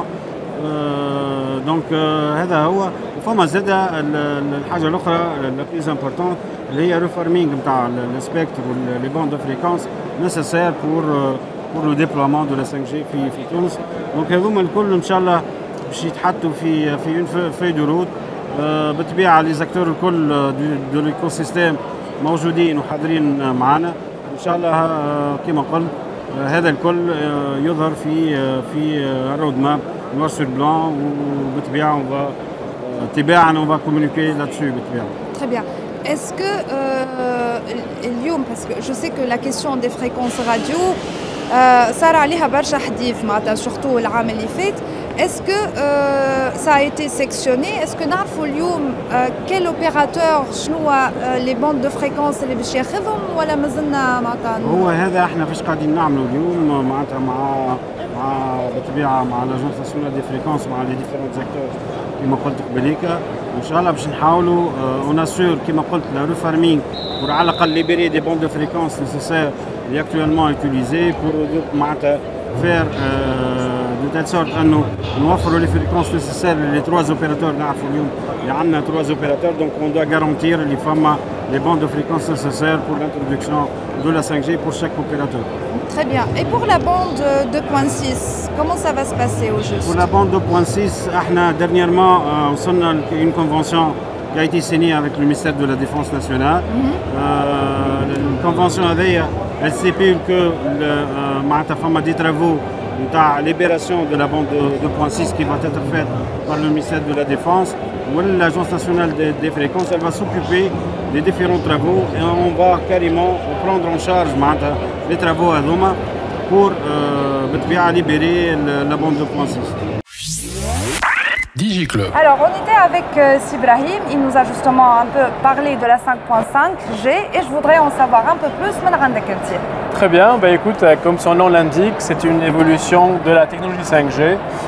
Donc هذا هو. وفما زاد الحاجة الأخرى la plus importante اللي هي reforming نتاع السبيكتر واللي بوند دو فريكونس nécessaire pour le déploiement de la 5G في تونس. Donc هذوما الكل إن شاء الله باش يتحطوا في اون فeuille de route. بالطبيعه لي زاكتور الكل دو ليكوسيستيم موجودين وحاضرين معنا ان شاء الله. كما قلت هذا الكل يظهر في رود ماب نوار سور بلان, وبالطبيعه تباعا on va communiquer là-dessus بالطبيعه. Très bien. Est-ce que اليوم, parce que je sais que la question des fréquences radio صار عليها برشا حديث معناتها surtout العام اللي فات. Est-ce que ça a été sectionné? Est-ce que نعرفوا اليوم quel opérateur شنو les bandes de fréquences اللي باش ياخذهم ولا مازلنا معناتها؟ هو هذا احنا فاش قاعدين نعملوا اليوم معناتها مع بالطبيعه مع لاجونس ناسيونال دي فريكونس مع لي ديفيرونت اكتور كما قلت قبليك ان شاء الله باش نحاولوا اون اسور كما قلت لا ريفارمينغ pour على الاقل libérer des bandes de fréquences nécessaires et actuellement utilisées pour معناتها faire de telle sorte انه نوفروا les fréquences nécessaires les trois opérateurs نعرفوا اليوم اللي عندنا trois opérateurs donc on doit garantir les femmes les bandes de fréquences nécessaires pour l'introduction de la 5G pour chaque opérateur. Très bien. Et pour la bande 2.6, comment ça va se passer au juste? Pour la bande 2.6, احنا dernièrement وصلنا une convention qui a été signée avec le ministère de la Défense nationale. La convention هذه elle stipule que معناتها فما des travaux نتاع libération de la bande 2.6 qui va être faite par le ministère de la Défense. L'Agence nationale des fréquences, elle va s'occuper des différents travaux et on va carrément prendre en charge les travaux à Doma pour libérer la bande 2.6. DigiClub. Alors, on était avec Sibrahim, il nous a justement un peu parlé de la 5.5G et je voudrais en savoir un peu plus. Très bien, bah écoute, comme son nom l'indique, c'est une évolution de la technologie 5G.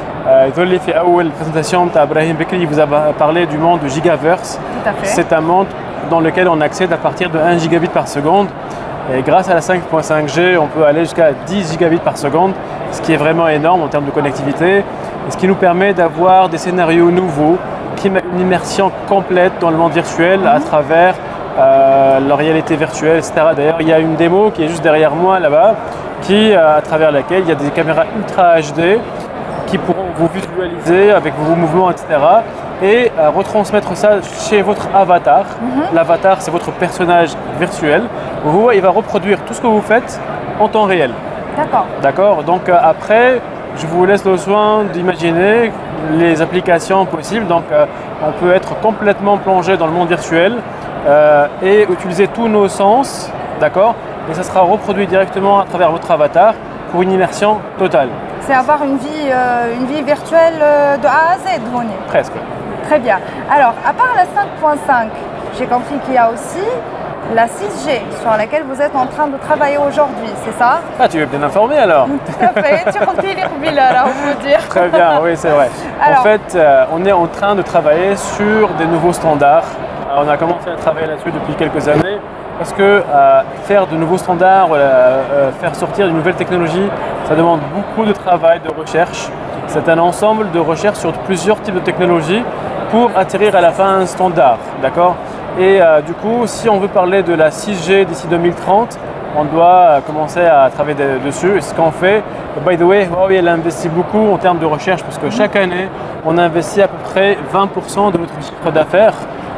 La présentation d'Abrahim Bekri vous a parlé du monde de Gigaverse. C'est un monde dans lequel on accède à partir de 1 gigabit par seconde. Et grâce à la 5.5G, on peut aller jusqu'à 10 gigabits par seconde, ce qui est vraiment énorme en termes de connectivité. Et ce qui nous permet d'avoir des scénarios nouveaux, qui mettent une immersion complète dans le monde virtuel à travers la réalité virtuelle, etc. D'ailleurs, il y a une démo qui est juste derrière moi là-bas, à travers laquelle il y a des caméras Ultra HD qui pourront vous visualiser avec vos mouvements, etc. Et retransmettre ça chez votre avatar. L'avatar, c'est votre personnage virtuel. Il va reproduire tout ce que vous faites en temps réel. D'accord. D'accord. Donc après, je vous laisse le soin d'imaginer les applications possibles. Donc on peut être complètement plongé dans le monde virtuel et utiliser tous nos sens, d'accord. Et ça sera reproduit directement à travers votre avatar pour une immersion totale. C'est avoir une vie virtuelle de A à Z, Rony. Presque. Très bien. Alors, à part la 5.5, j'ai compris qu'il y a aussi la 6G sur laquelle vous êtes en train de travailler aujourd'hui, c'est ça? Ah, tu es bien informé alors. Tout à fait. Tu on peut dire. Très bien, oui, c'est vrai. Alors, en fait, on est en train de travailler sur des nouveaux standards. On a commencé à travailler là-dessus depuis quelques années parce que faire de nouveaux standards, faire sortir de nouvelles technologies, ça demande beaucoup de travail, de recherche. C'est un ensemble de recherche sur plusieurs types de technologies pour atterrir à la fin un standard, d'accord. Et du coup, si on veut parler de la 6G d'ici 2030, on doit commencer à travailler dessus. Et ce qu'on fait, by the way, Huawei elle investit beaucoup en termes de recherche parce que chaque année, on investit à peu près 20% de notre chiffre d'affaires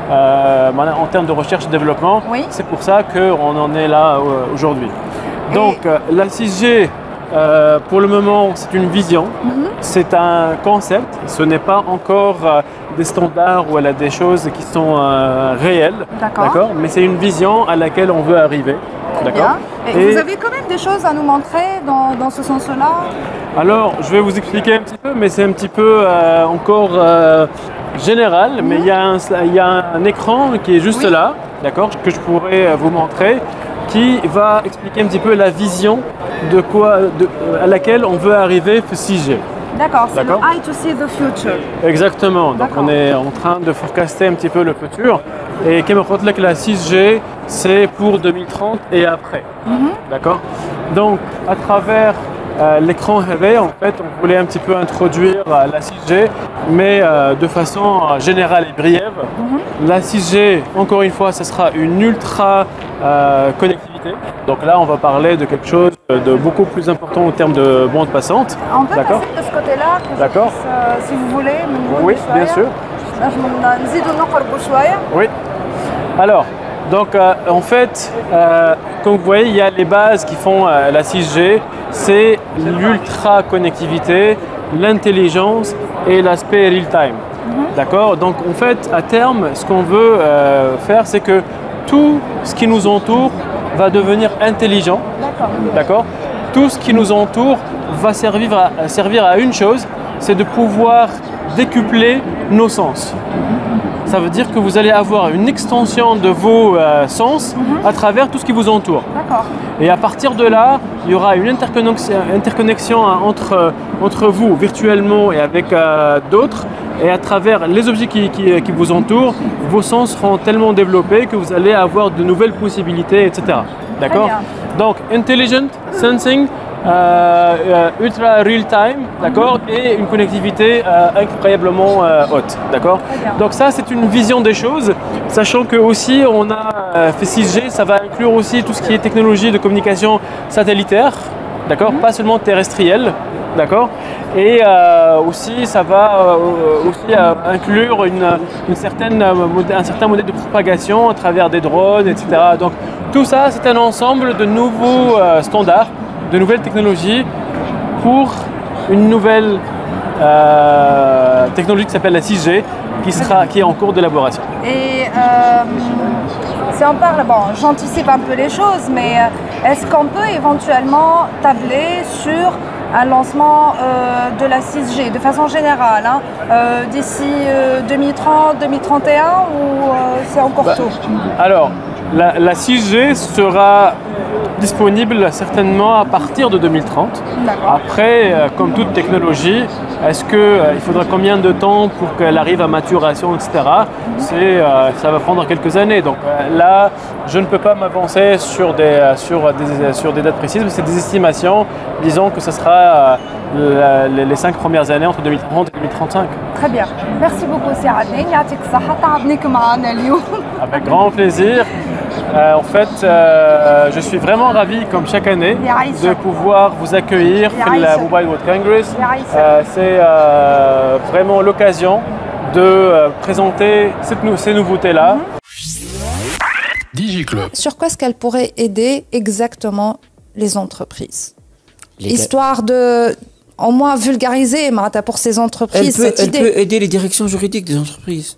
en termes de recherche et développement. Oui. C'est pour ça qu'on en est là aujourd'hui. Donc la 6G, pour le moment, c'est une vision, c'est un concept, ce n'est pas encore des standards ou des choses qui sont réelles, d'accord. Mais c'est une vision à laquelle on veut arriver. D'accord. Et vous avez quand même des choses à nous montrer dans ce sens-là? Alors, je vais vous expliquer un petit peu, mais c'est un petit peu encore général, mais il y a un écran qui est juste là, d'accord, que je pourrais vous montrer, qui va expliquer un petit peu la vision à laquelle on veut arriver pour 6G. D'accord, c'est le Eye to see the future. Exactement, donc on est en train de forecaster un petit peu le futur. Et comme je vous dis, la 6G, c'est pour 2030 et après. D'accord. Donc, à travers l'écran rêvé, en fait, on voulait un petit peu introduire la 6G, mais de façon générale et brève. La 6G, encore une fois, ce sera une ultra connectivité. Donc là, on va parler de quelque chose de beaucoup plus important en termes de bande passante. On peut passer de ce côté-là, d'accord. Si vous voulez. Oui, bien sûr. Oui. Alors, donc en fait, comme vous voyez, il y a les bases qui font la 6G, c'est l'ultra connectivité, l'intelligence et l'aspect real-time. D'accord. Donc en fait, à terme, ce qu'on veut faire, c'est que tout ce qui nous entoure va devenir intelligent. D'accord. tout ce qui nous entoure va servir à une chose, c'est de pouvoir décupler nos sens. Ça veut dire que vous allez avoir une extension de vos sens à travers tout ce qui vous entoure. D'accord. Et à partir de là, il y aura une interconnexion entre vous virtuellement et avec d'autres. Et à travers les objets qui vous entourent, vos sens seront tellement développés que vous allez avoir de nouvelles possibilités, etc. D'accord ? Donc, intelligent, sensing, ultra real time, d'accord, et une connectivité incroyablement haute, d'accord. Donc ça, c'est une vision des choses, sachant que aussi on a fait 6G, ça va inclure aussi tout ce qui est technologie de communication satellitaire, d'accord, pas seulement terrestrielle, d'accord, et aussi ça va aussi inclure un certain modèle de propagation à travers des drones, etc. Donc tout ça, c'est un ensemble de nouveaux standards, de nouvelles technologies pour une nouvelle technologie qui s'appelle la 6G qui est en cours d'élaboration. Et si on parle, bon, j'anticipe un peu les choses, mais est-ce qu'on peut éventuellement tabler sur un lancement de la 6G de façon générale, hein, d'ici 2030, 2031 ou c'est encore tôt? Alors, la 6G sera disponible certainement à partir de 2030. Après, comme toute technologie, est-ce qu'il faudra combien de temps pour qu'elle arrive à maturation, etc. Ça va prendre quelques années. Donc là, je ne peux pas m'avancer sur des dates précises, mais c'est des estimations. Disons que ce sera les 5 premières années entre 2030 et 2035. Très bien. Merci beaucoup, Saadine. Avec grand plaisir. En fait, je suis vraiment ravi, comme chaque année, de pouvoir vous accueillir pour la Mobile World Congress. C'est vraiment l'occasion de présenter ces nouveautés-là. DigiClub. Sur quoi est-ce qu'elle pourrait aider exactement les entreprises? Histoire de, au moins, vulgariser pour ces entreprises cette idée. Elle peut aider les directions juridiques des entreprises.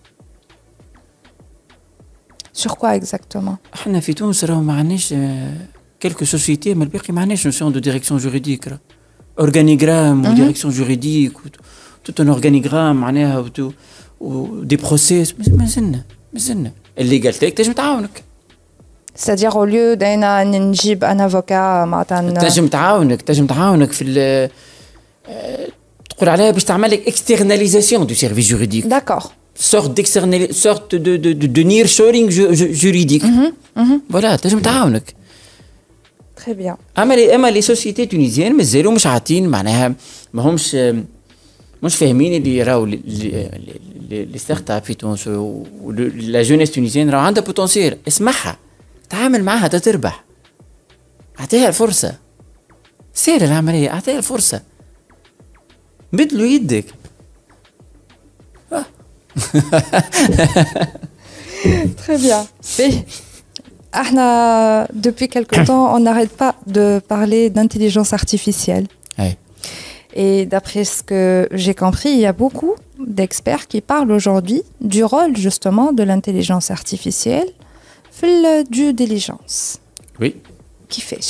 Sur quoi exactement? احنا في تونس راهو ما عندناش quelques sociétés mais الباقي ما عندناش notion de direction juridique. Organigramme ou direction juridique tout un organigramme معناها و des process مازلنا الليغالتي تنجم تعاونك. C'est-à-dire au lieu d'أنا نجيب un avocat معناتها تنجم تعاونك في تقول عليها باش تعمل لك externalisation du service juridique. D'accord. sorte de nearshoring juridique. Voilà, تنجم تعاونك. Très bien. اما لي سوسيتي تونيزيان مازالوا مش عاطين معناها ماهمش فاهمين اللي راهو لي ستارت اب في تونس ولا جونيس تونيزيان راهو عندها بوتنسيال. اسمعها، تعامل معها تربح، اعطيها الفرصه، سير العمليه، اعطيها الفرصه، بدلوا يدك. Très bien. Depuis quelque temps, on n'arrête pas de parler d'intelligence artificielle. Ouais. Et d'après ce que j'ai compris, il y a beaucoup d'experts qui parlent aujourd'hui du rôle justement de l'intelligence artificielle dans la due diligence. Oui. Qui fait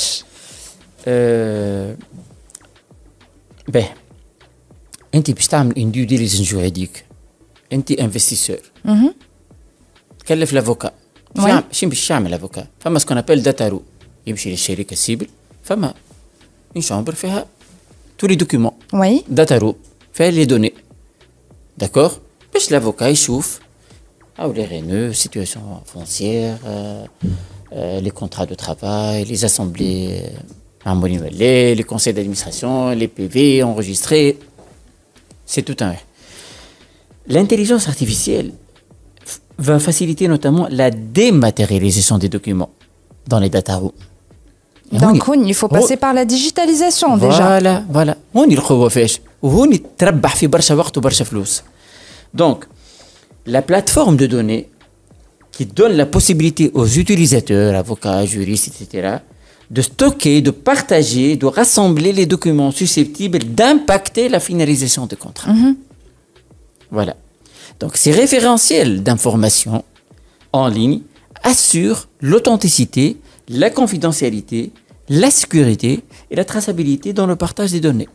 ben, انت باش تعمل une due diligence juridique. انت انفستيسور. تكلف لافوكا. شنو باش يعمل لافوكا؟ فما سكون ابل داتا رو، يمشي للشركه السيبل، فما اون شامبر فيها تو لي دوكيومون. وي. داتا رو فيها لي دوني. داكور؟ باش لافوكا يشوف او لي رينو، سيتواسيون فونسيير، لي كونترا دو ترافاي، لي اسامبلي عمولي، لي كونساي دادمينستراسيون، لي بي في انregistrés. C'est tout un. L'intelligence artificielle va faciliter notamment la dématérialisation des documents dans les data rooms. Donc, il faut passer par la digitalisation déjà. Voilà. On y le فاش وهوني تربح في برشا وقت وبرشا فلوس. Donc, la plateforme de données qui donne la possibilité aux utilisateurs, avocats, juristes, etc., de stocker, de partager, de rassembler les documents susceptibles d'impacter la finalisation des contrats. Voilà. Donc, ces référentiels d'information en ligne assurent l'authenticité, la confidentialité, la sécurité et la traçabilité dans le partage des données.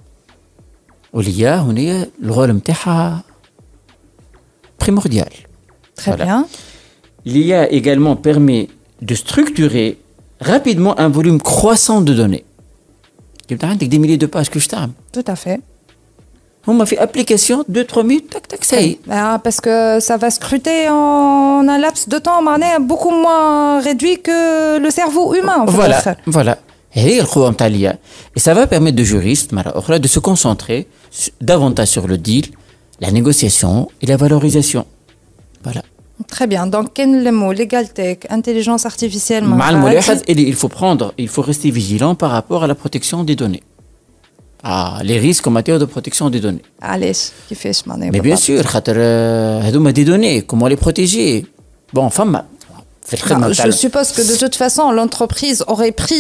واللي هنا الرول نتاعها primordial. Très bien. L'IA également permet de structurer rapidement un volume croissant de données. Tu as des milliers de pages que je t'aime. Tout à fait. On m'a fait application 2-3 minutes, tac tac, ça y est. Parce que ça va scruter en un laps de temps beaucoup moins réduit que le cerveau humain. Voilà. Et ça va permettre aux juristes de se concentrer davantage sur le deal, la négociation et la valorisation. Voilà. Très bien. Donc, quel est le mot? L'égalité, intelligence artificielle. Il faut rester vigilant par rapport à la protection des données. Les risques en matière de protection des données. Allez, qui fait ce Mais bien sûr, des données, comment les protéger? Bon, enfin, je suppose que de toute façon, l'entreprise aurait pris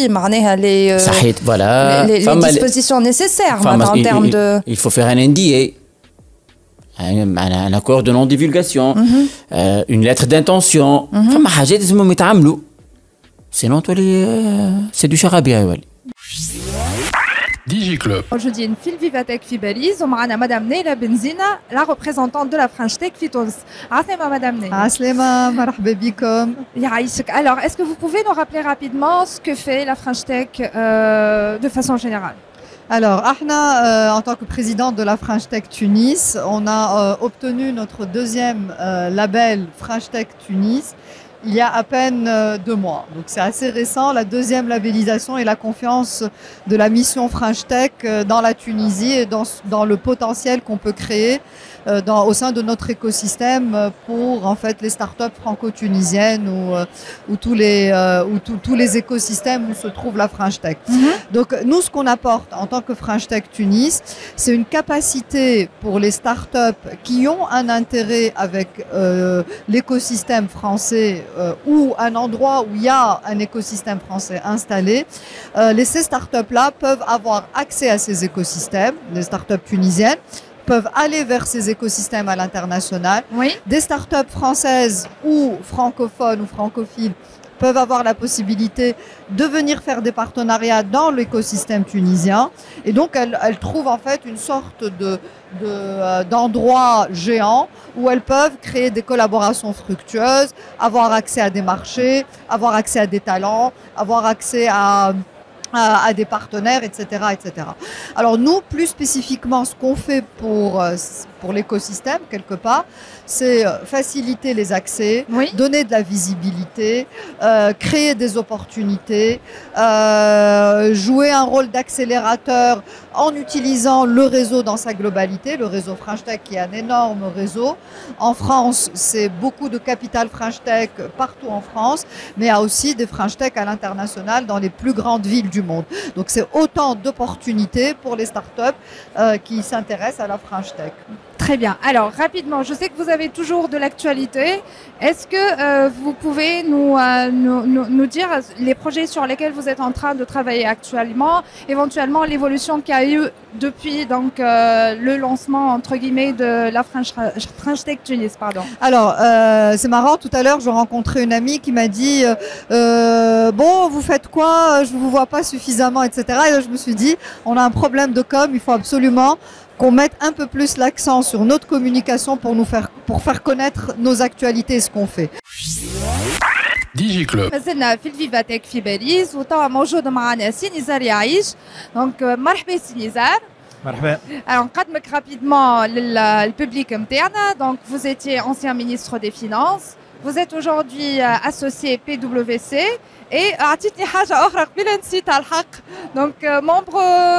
les dispositions nécessaires en termes de... Il faut faire un NDA. Un accord de non-divulgation, une lettre d'intention. Sinon, c'est du charabia. DigiClub. Aujourd'hui, une file Vivatech Fibelize. On a Madame Neila Benzina, la représentante de la French Tech Fitons. Aslema, Madame Neila. Aslema, marhaba bikom. Alors, est-ce que vous pouvez nous rappeler rapidement ce que fait la French Tech de façon générale? Alors, Ahna, en tant que présidente de la French Tech Tunis, on a obtenu notre deuxième label French Tech Tunis il y a à peine 2 mois. Donc c'est assez récent, la deuxième labellisation et la confiance de la mission French Tech dans la Tunisie et dans le potentiel qu'on peut créer au sein de notre écosystème pour en fait les startups franco-tunisiennes ou tous les écosystèmes où se trouve la French Tech. Donc nous, ce qu'on apporte en tant que French Tech Tunis, c'est une capacité pour les startups qui ont un intérêt avec l'écosystème français ou un endroit où il y a un écosystème français installé. Ces startups-là peuvent avoir accès à ces écosystèmes, les startups tunisiennes, peuvent aller vers ces écosystèmes à l'international. Oui. Des startups françaises ou francophones ou francophiles peuvent avoir la possibilité de venir faire des partenariats dans l'écosystème tunisien. Et donc, elles trouvent en fait une sorte d'endroit géant où elles peuvent créer des collaborations fructueuses, avoir accès à des marchés, avoir accès à des talents, avoir accès à des partenaires, etc., etc. Alors nous, plus spécifiquement, ce qu'on fait pour l'écosystème, quelque part, c'est faciliter les accès, donner de la visibilité, créer des opportunités, jouer un rôle d'accélérateur en utilisant le réseau dans sa globalité, le réseau French Tech qui est un énorme réseau. En France, c'est beaucoup de capital French Tech partout en France, mais il y a aussi des French Tech à l'international dans les plus grandes villes du monde. Donc c'est autant d'opportunités pour les startups qui s'intéressent à la French Tech. Très bien. Alors, rapidement, je sais que vous avez toujours de l'actualité. Est-ce que vous pouvez nous dire les projets sur lesquels vous êtes en train de travailler actuellement, éventuellement l'évolution qu'il y a eu depuis donc, le lancement, entre guillemets, de la French Tech Tunis, pardon. Alors, c'est marrant, tout à l'heure, je rencontrais une amie qui m'a dit bon, vous faites quoi? Je ne vous vois pas suffisamment, etc. Et là, je me suis dit, on a un problème de com, il faut absolument qu'on mette un peu plus l'accent sur notre communication pour faire connaître nos actualités et ce qu'on fait. DigiClub. مازلنا في الفيفاتيك في باريس وتوا موجود معنا سي نزار يعيش دونك مرحبا سي نزار. مرحبا. Alors نقدمك rapidement للبوبليك نتاعنا. Donc vous étiez ancien ministre des Finances. Vous êtes aujourd'hui associé PwC et عطيتني حاجة أخرى قبيلة نسيت على الحق. Donc membre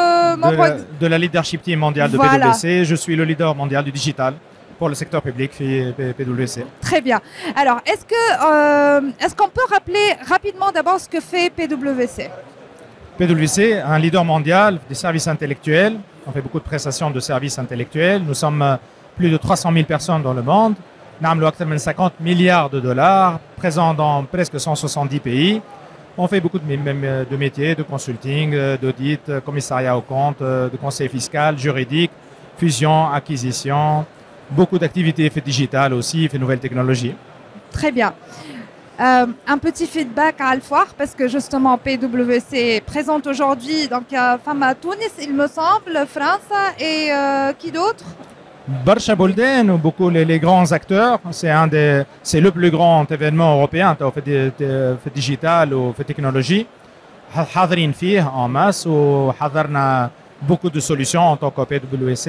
de la leadership team mondiale de PwC. Je suis le leader mondial du digital pour le secteur public PwC. Très bien. Alors, est-ce qu'on peut rappeler rapidement d'abord ce que fait PwC? PwC, un leader mondial des services intellectuels. On fait beaucoup de prestations de services intellectuels. Nous sommes plus de 300 000 personnes dans le monde. Nous avons 50 milliards de dollars, présents dans presque 170 pays. On fait beaucoup de métiers, de consulting, d'audit, commissariat aux comptes, de conseil fiscal, juridique, fusion, acquisition, beaucoup d'activités digitales aussi, nouvelles technologies. Très bien. Un petit feedback à Alfoire parce que justement PwC est présente aujourd'hui. Donc femme à Tunis, il me semble, France et qui d'autre? Barcha Bolden ou beaucoup les grands acteurs. C'est le plus grand événement européen fait digital ou fait technologie. حاضرين فيه en masse وحضرنا beaucoup de solutions en tant que PwC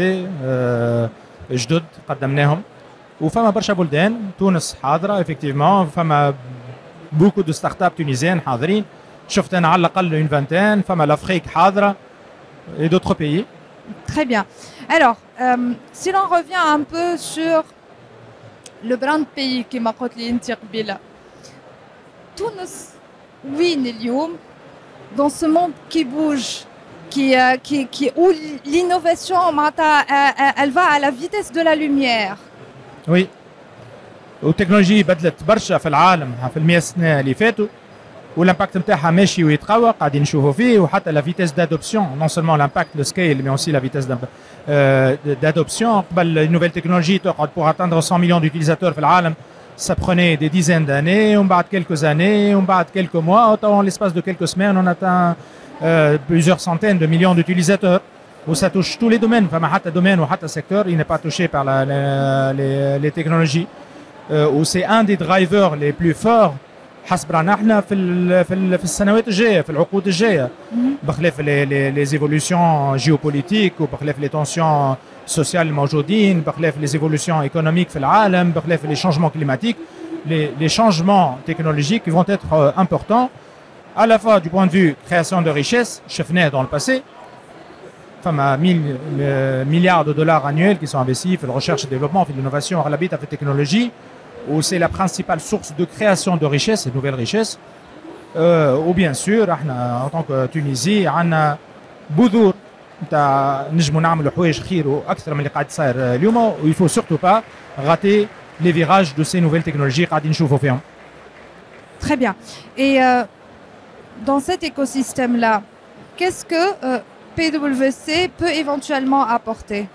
جدد قدمناهم. وفما برشا بلدان تونس حاضره effectivement فما beaucoup de startups tunisiennes حاضرين شفت انا على الاقل une vingtaine فما l'Afrique حاضره et d'autres pays. Très bien. Alors si l'on revient un peu sur le brand pays كما قلت لي انت قبيله تونس وين اليوم dans ce monde qui bouge où l'innovation elle va à la vitesse de la lumière. Oui. والتكنولوجيا بدلت برشا في العالم في ال100 سنه اللي فاتوا والامباكت نتاعها ماشي ويتقوى قاعدين نشوفوا فيه وحتى لا فيتيس دادوبسيون نون سولمون لامباكت لو سكيل مي اوسي لا فيتيس d'adoption. Les nouvelles technologies pour atteindre 100 millions d'utilisateurs في العالم ça prenait des dizaines d'années, on bat quelques années, on bat quelques mois. En l'espace de quelques semaines, on atteint plusieurs centaines de millions d'utilisateurs. Où ça touche tous les domaines, enfin, حتى domaine ou حتى secteur, il n'est pas touché par les technologies. Où c'est un des drivers les plus forts حسب احنا في السنوات الجايه في العقود الجايه بخلاف les évolutions géopolitiques وبخلاف les tensions sociales الموجودين بخلاف les évolutions économiques في العالم بخلاف les changements climatiques les changements technologiques vont être importants à la fois du point de vue création de richesses شفناه dans le passé فما 1000 milliards de dollars annuels qui sont investis في الrecherche et développement في l'innovation أغلبيتها في التكنولوجي où c'est la principale source de création de richesses et de nouvelles richesses. Ou bien sûr, en tant que Tunisie, on a بذور نتاع نجموا نعملوا حوايج خير واكثر من اللي قاعد صاير اليوم il faut surtout pas rater les virages de ces nouvelles technologies قاعدين نشوفوا فيهم. Très bien. Et dans cet écosystème-là, qu'est-ce que PwC peut éventuellement apporter?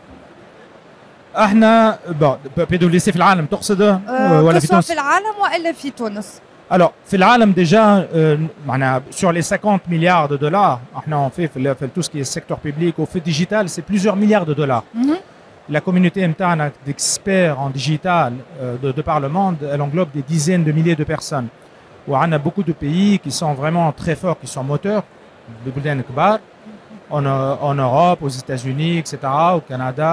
احنا PwC في العالم تقصد ولا في تونس؟ في العالم والا في تونس؟ Alors في العالم déjà معناها sur les 50 milliards de dollars احنا on fait tout ce qui est secteur public ou fait digital c'est plusieurs milliards de dollars. La communauté نتاعنا d'experts en digital de par le monde elle englobe des dizaines de milliers de personnes. وعندنا beaucoup de pays qui sont vraiment très forts qui sont moteurs ببلدان كبار. En Europe, aux États-Unis, etc., au Canada,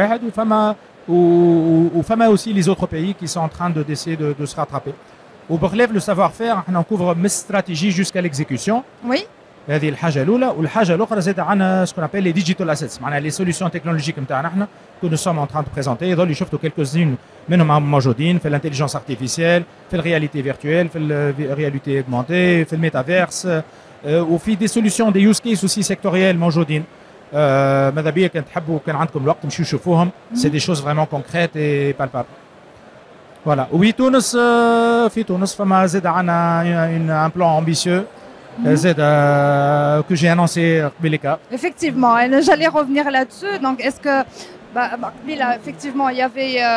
ou fama aussi les autres pays qui sont en train d'essayer de se rattraper. Au Berlève, le savoir-faire, on couvre mes stratégies jusqu'à l'exécution. Oui. هذه الحاجة الأولى، والحاجة الأخرى زاد عندنا ce qu'on appelle les digital assets، معناها les solutions technologiques نتاعنا احنا que nous sommes en train de présenter. يظل شفتوا quelques-unes منهم موجودين في l'intelligence artificielle، في الرياليتي فيرتويل، في الرياليتي augmentée، في الميتافيرس. وفي دي سوليسيون دي يوز كيس اوسي سيكتوريال موجودين ماذا بيا كان تحبوا كان عندكم الوقت مشيو شوفوهم سي دي شوز فريمون كونكريت اي بالبابل فوالا وي تونس في تونس فما زاد عندنا ان بلان امبيسيو زاد que j'ai annoncé قبيلك. Effectivement, et j'allais revenir là-dessus. Donc est-ce que effectivement il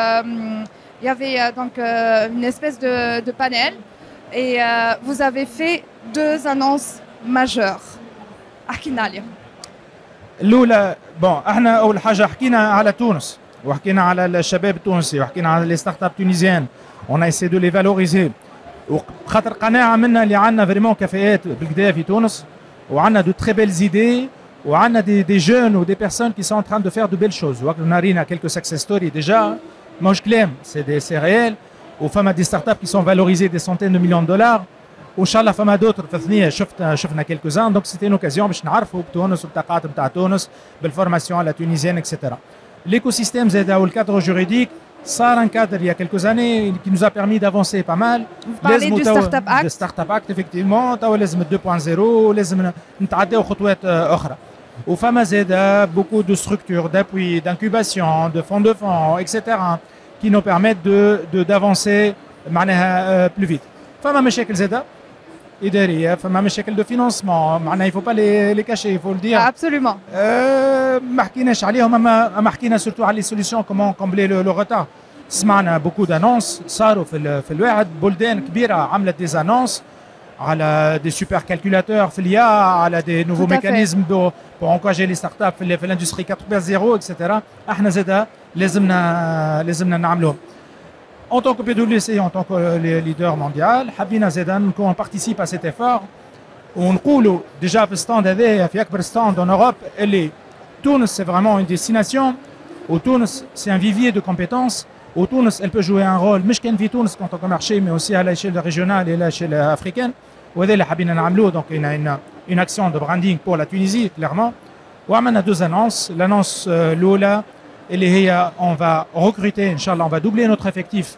y avait donc une espèce de panel et vous avez fait 2 annonces majeures. احكينا عليهم. الاولى احنا اول حاجه حكينا على تونس وحكينا على الشباب التونسي وحكينا على لي ستارت اب تونيزيان اون ايسي دو لي فالوريزي وخاطر قناعه منا اللي عندنا فريمون كفاءات بالكدا في تونس وعندنا دو تري بيل زيدي وعندنا دي جون و دي بيرسون كي سون تران دو فير دو بيل شوز وقلنا رينا كيلكو سكسس ستوري ديجا ماهوش كلام سي ريال وفما دي ستارت اب كي سون فالوريزي دي سونتين دو مليون دولار وان شاء الله فما دوتر في الثنيه شفنا كيلكو زان دونك سيتي اون اوكازيون باش نعرفوا بتونس وبطاقات نتاع تونس بالفورماسيون لا تونيزيان اكسيتيرا. ليكو سيستيم زاد او الكادر جوريديك صار ان كادر il y a quelques années qui nous a permis d'avancer pas mal. لازم du startup act. Le startup act effectivement توا لازم 2.0 لازم نتعداو خطوات اخرى. وفما زاد beaucoup de structures d'appui, d'incubation, de fonds etc. qui nous permettent d'avancer معناها plus vite. فما مشاكل زاده إدارية فما مشاكل دو فينانسمون معناها يفو با لي كاشي يفو الدير ابسولومون ما حكيناش عليهم اما حكينا سورتو على لي سوليسيون كومون كومبلي لو روتار سمعنا beaucoup d'annonces صاروا في الواحد بلدان كبيرة عملت des annonces على des super calculateurs في l'IA على des nouveaux mécanismes pour encourager les startups في l'industrie 4.0 etc. احنا زادا لازمنا نعملوهم. En tant que PwC, en tant que leader mondial, حبينا زادا qu'on participe à cet effort ونقولوا déjà في الستاند هذايا في أكبر ستاند en Europe اللي تونس c'est vraiment une destination où Tunis c'est un vivier de compétences où Tunis elle peut jouer un rôle مش كان في تونس en tant que marché mais aussi à l'échelle régionale et à l'échelle africaine وهذا اللي حبينا نعملوه. donc une action de branding pour la Tunisie clairement وعملنا deux annonces. l'annonce الأولى اللي هي on va recruter inchallah on va doubler notre effectif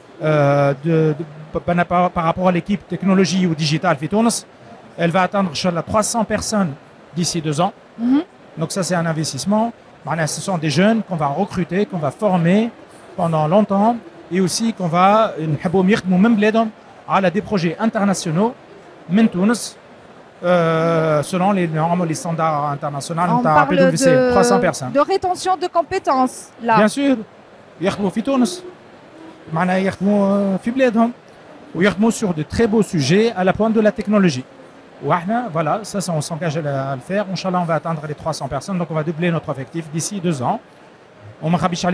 par rapport à l'équipe technologie ou digitale في تونس. Elle va atteindre inchallah 300 personnes d'ici 2 ans. Donc ça c'est un investissement. Ce sont des jeunes qu'on va recruter, qu'on va former pendant longtemps et aussi qu'on va نحبوا يخدموا من بلادهم على des projets internationaux من تونس selon les normes, les standards internationaux. On parle de 300 personnes. De rétention de compétences là. Bien sûr. يخدموا في تونس. معناها يخدموا في بلادهم ويخدموا sur de très beaux sujets à la pointe de la technologie. Voilà, ça on s'engage à le faire. Inch'Allah, on va atteindre les 300 personnes, donc on va doubler notre effectif d'ici 2 ans. On m'a dit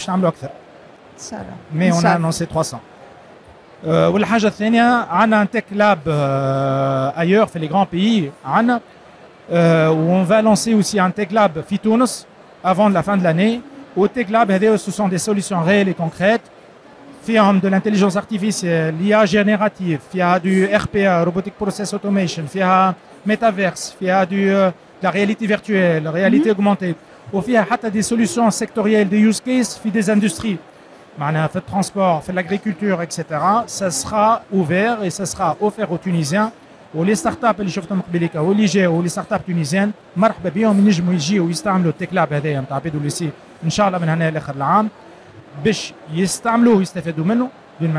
mais on a annoncé 300. والحاجة الثانية عنا un tech lab ailleurs في les grands pays عنا où on va lancer aussi un tech lab في تونس avant la fin de l'année. Au tech lab ce sont des solutions réelles et concrètes. فيها de l'intelligence artificielle, l'IA générative, فيها du RPA, robotic process automation, فيها metaverse, فيها de la réalité virtuelle, réalité augmentée, وفيها حتى des solutions sectorielles, des use cases في des industries. معناها في الترانسبور, في l'agriculture, etc. Ça sera ouvert et ça sera offert aux Tunisiens. ولي ستارت اب اللي شفتهم قبيليك واللي جاوا ولي ستارت اب تونيزيان مرحبا بهم ينجموا يجيوا ويستعملوا التيك لاب هذايا نتاع PwC ان شاء الله من هنا لاخر العام باش يستعملوه ويستفادوا منه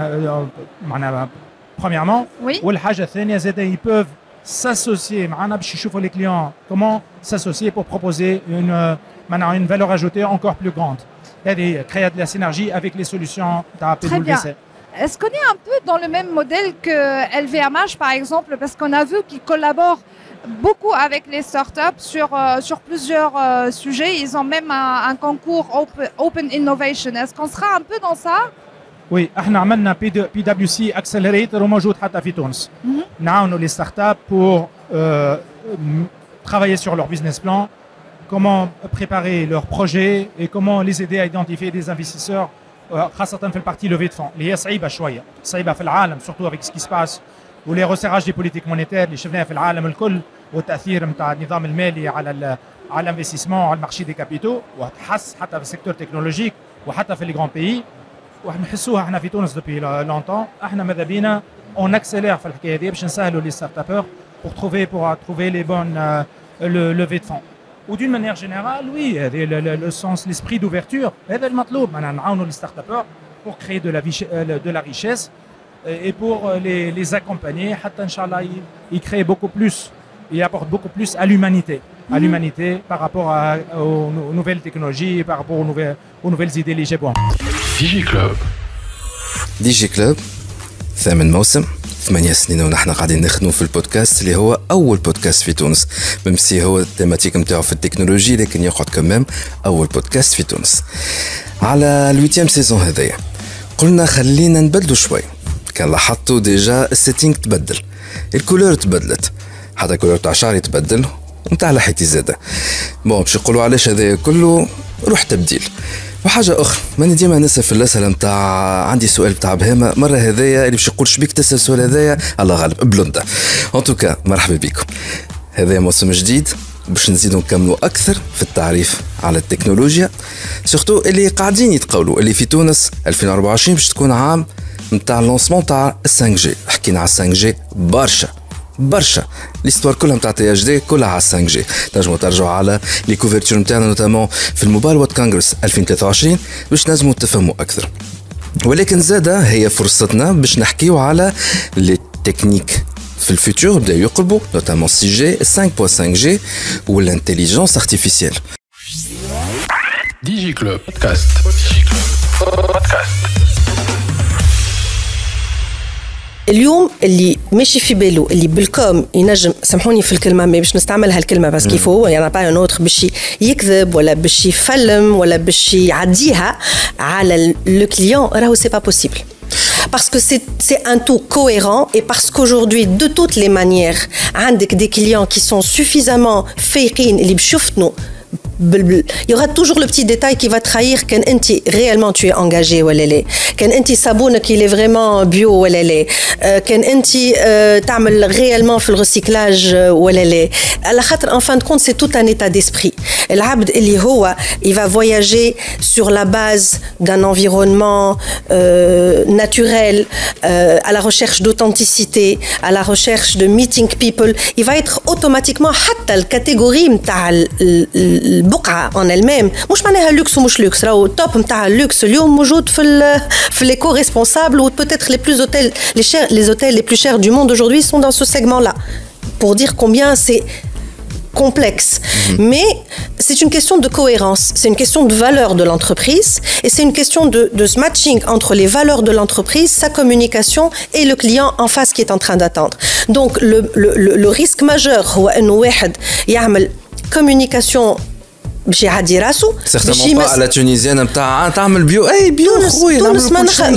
معناها premièrement. والحاجه الثانيه زاد ils peuvent s'associer معنا باش يشوفوا les clients comment s'associer pour proposer une valeur ajoutée encore plus grande. هذه créer de la synergie avec les solutions تاع PwC. Est-ce qu'on est un peu dans le même modèle que LVMH par exemple, parce qu'on a vu qu'ils collaborent beaucoup avec les startups sur plusieurs sujets. Ils ont même un concours Open Innovation. Est-ce qu'on sera un peu dans ça? Oui, احنا عملنا PwC Accelerator وموجود حتى في تونس. نعاونوا les startups pour travailler sur leur business plan, comment préparer leurs projets et comment les aider à identifier des investisseurs خاصة في البارتي لوفي دو فون اللي هي صعيبة شوية، صعيبة في العالم surtout avec ce qui se passe ولي resserrage des politiques monétaires اللي شفناها في العالم الكل والتأثير نتاع النظام المالي على الانفستيسمون على المارشي دي كابيتو وتحس حتى في السيكتور تكنولوجيك وحتى في لي غران بيي ونحسوها احنا في تونس دوبي لونتون. احنا ماذا بينا اون اكسيلير في الحكاية هذه باش نسهلوا لي ستارت ابور pour trouver les bonnes levées de fonds. Ou d'une manière générale, oui, le sens, l'esprit d'ouverture, c'est le مطلوب. On les start-upers pour créer de la richesse et pour les accompagner. Hatta Inch'Allah, ils créent beaucoup plus, ils apportent beaucoup plus à l'humanité, par rapport aux nouvelles technologies, par rapport aux nouvelles idées les جابوهم. ديجي كلوب ثامن موسم 8 سنين ونحن قاعدين نخدموا في البودكاست اللي هو أول بودكاست في تونس. ممسي هو التيماتيك متاعه في التكنولوجي لكن يقعد كمام أول بودكاست في تونس. على الويتيام سيزون هذايا قلنا خلينا نبدلوا شوي. كان لاحظتوا ديجا السيتينغ تبدل، الكولور تبدلت، حتى الكولور تاع شعري تبدل ونتاع لحيتي زاده. باش يقولوا علاش هذا كله روح تبديل. وحاجة أخرى ماني ديما نسأل في الأسئلة متاع عندي سؤال بتاع بهامة مرة هذايا اللي باش يقول شبيك تسأل السؤال هذايا الله غالب بلوندا. ان توكا مرحبا بكم. هذا موسم جديد باش نزيدوا نكملوا أكثر في التعريف على التكنولوجيا سورتو اللي قاعدين يتقولوا اللي في تونس 2024 باش تكون عام متاع اللونسمون تاع 5G. حكينا على 5G برشا ليستوار كلها نتاع تي اش دي كلها على 5G. تنجموا ترجعوا على لي كوفرتور نتاعنا نوتامون في الموبايل وورد كونغرس 2023 باش نجموا تفهموا اكثر. ولكن زاده هي فرصتنا باش نحكيو على لي تكنيك في الفيتور بداو يقربوا نوتامون 6G 5.5G والانتيليجنس ارتيفيسيال. ديجي كلوب بودكاست. بودكاست. اليوم اللي ماشي في باله اللي بالكم ينجم سامحوني في الكلمه ما باش نستعمل هالكلمه بس كيف هو يعني با نوتر باش يكذب ولا باش يفلم ولا باش يعديها على لو كليون راهو سي با بوسيبل. Parce que c'est un tout cohérent et parce qu'aujourd'hui, de toutes les manières, عندك des clients qui sont suffisamment فايقين اللي بشوفتنو il y aura toujours le petit détail qui va trahir quand réellement tu es engagé ou elle est quand enti sabone qu'il est vraiment bio ou elle est quand enti تعمل réellement في le recyclage ou elle est على خاطر en fin de compte c'est tout un état d'esprit العبد اللي هو il va voyager sur la base d'un environnement naturel à la recherche d'authenticité à la recherche de meeting people il va être automatiquement حتى الكاتيجوري نتاع البقعه en elle-même مش معناها لوكس ومش لوكس راهو التوب نتاع اللوكس اليوم موجود في l'éco responsable ou peut-être les hôtels les plus chers du monde aujourd'hui sont dans ce segment-là pour dire combien c'est complexe. Mais c'est une question de cohérence, c'est une question de valeur de l'entreprise et c'est une question de ce matching entre les valeurs de l'entreprise, sa communication et le client en face qui est en train d'attendre. Donc le risque majeur هو انه واحد يعمل communication باش يعدي راسو certainement pas à la tunisienne نتاع تعمل بيو اي بيو خويا تونس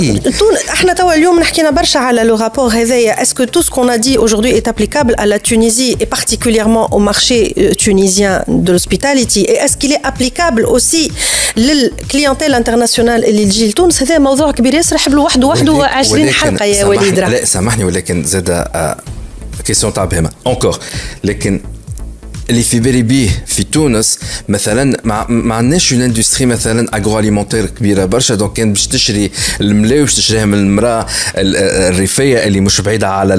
احنا توا اليوم حكينا برشا على لو رابور هذايا est-ce que tout ce qu'on a dit aujourd'hui est applicable à la Tunisie et particulièrement au marché tunisien de l'hospitality et est-ce qu'il est applicable aussi للكلينتيل انترناسيونال اللي تجي لتونس هذا موضوع كبير ياسر يحب له وحده 20 حلقه يا وليد لا سامحني ولكن زاد كيسيون تاع بهمه encore لكن اللي في بالي بيه في تونس مثلا ما عندناش اون اندستري مثلا اغرو اليمونتير كبيره برشا دونك كان باش تشري الملاي باش تشريها من المراه الريفيه اللي مش بعيده على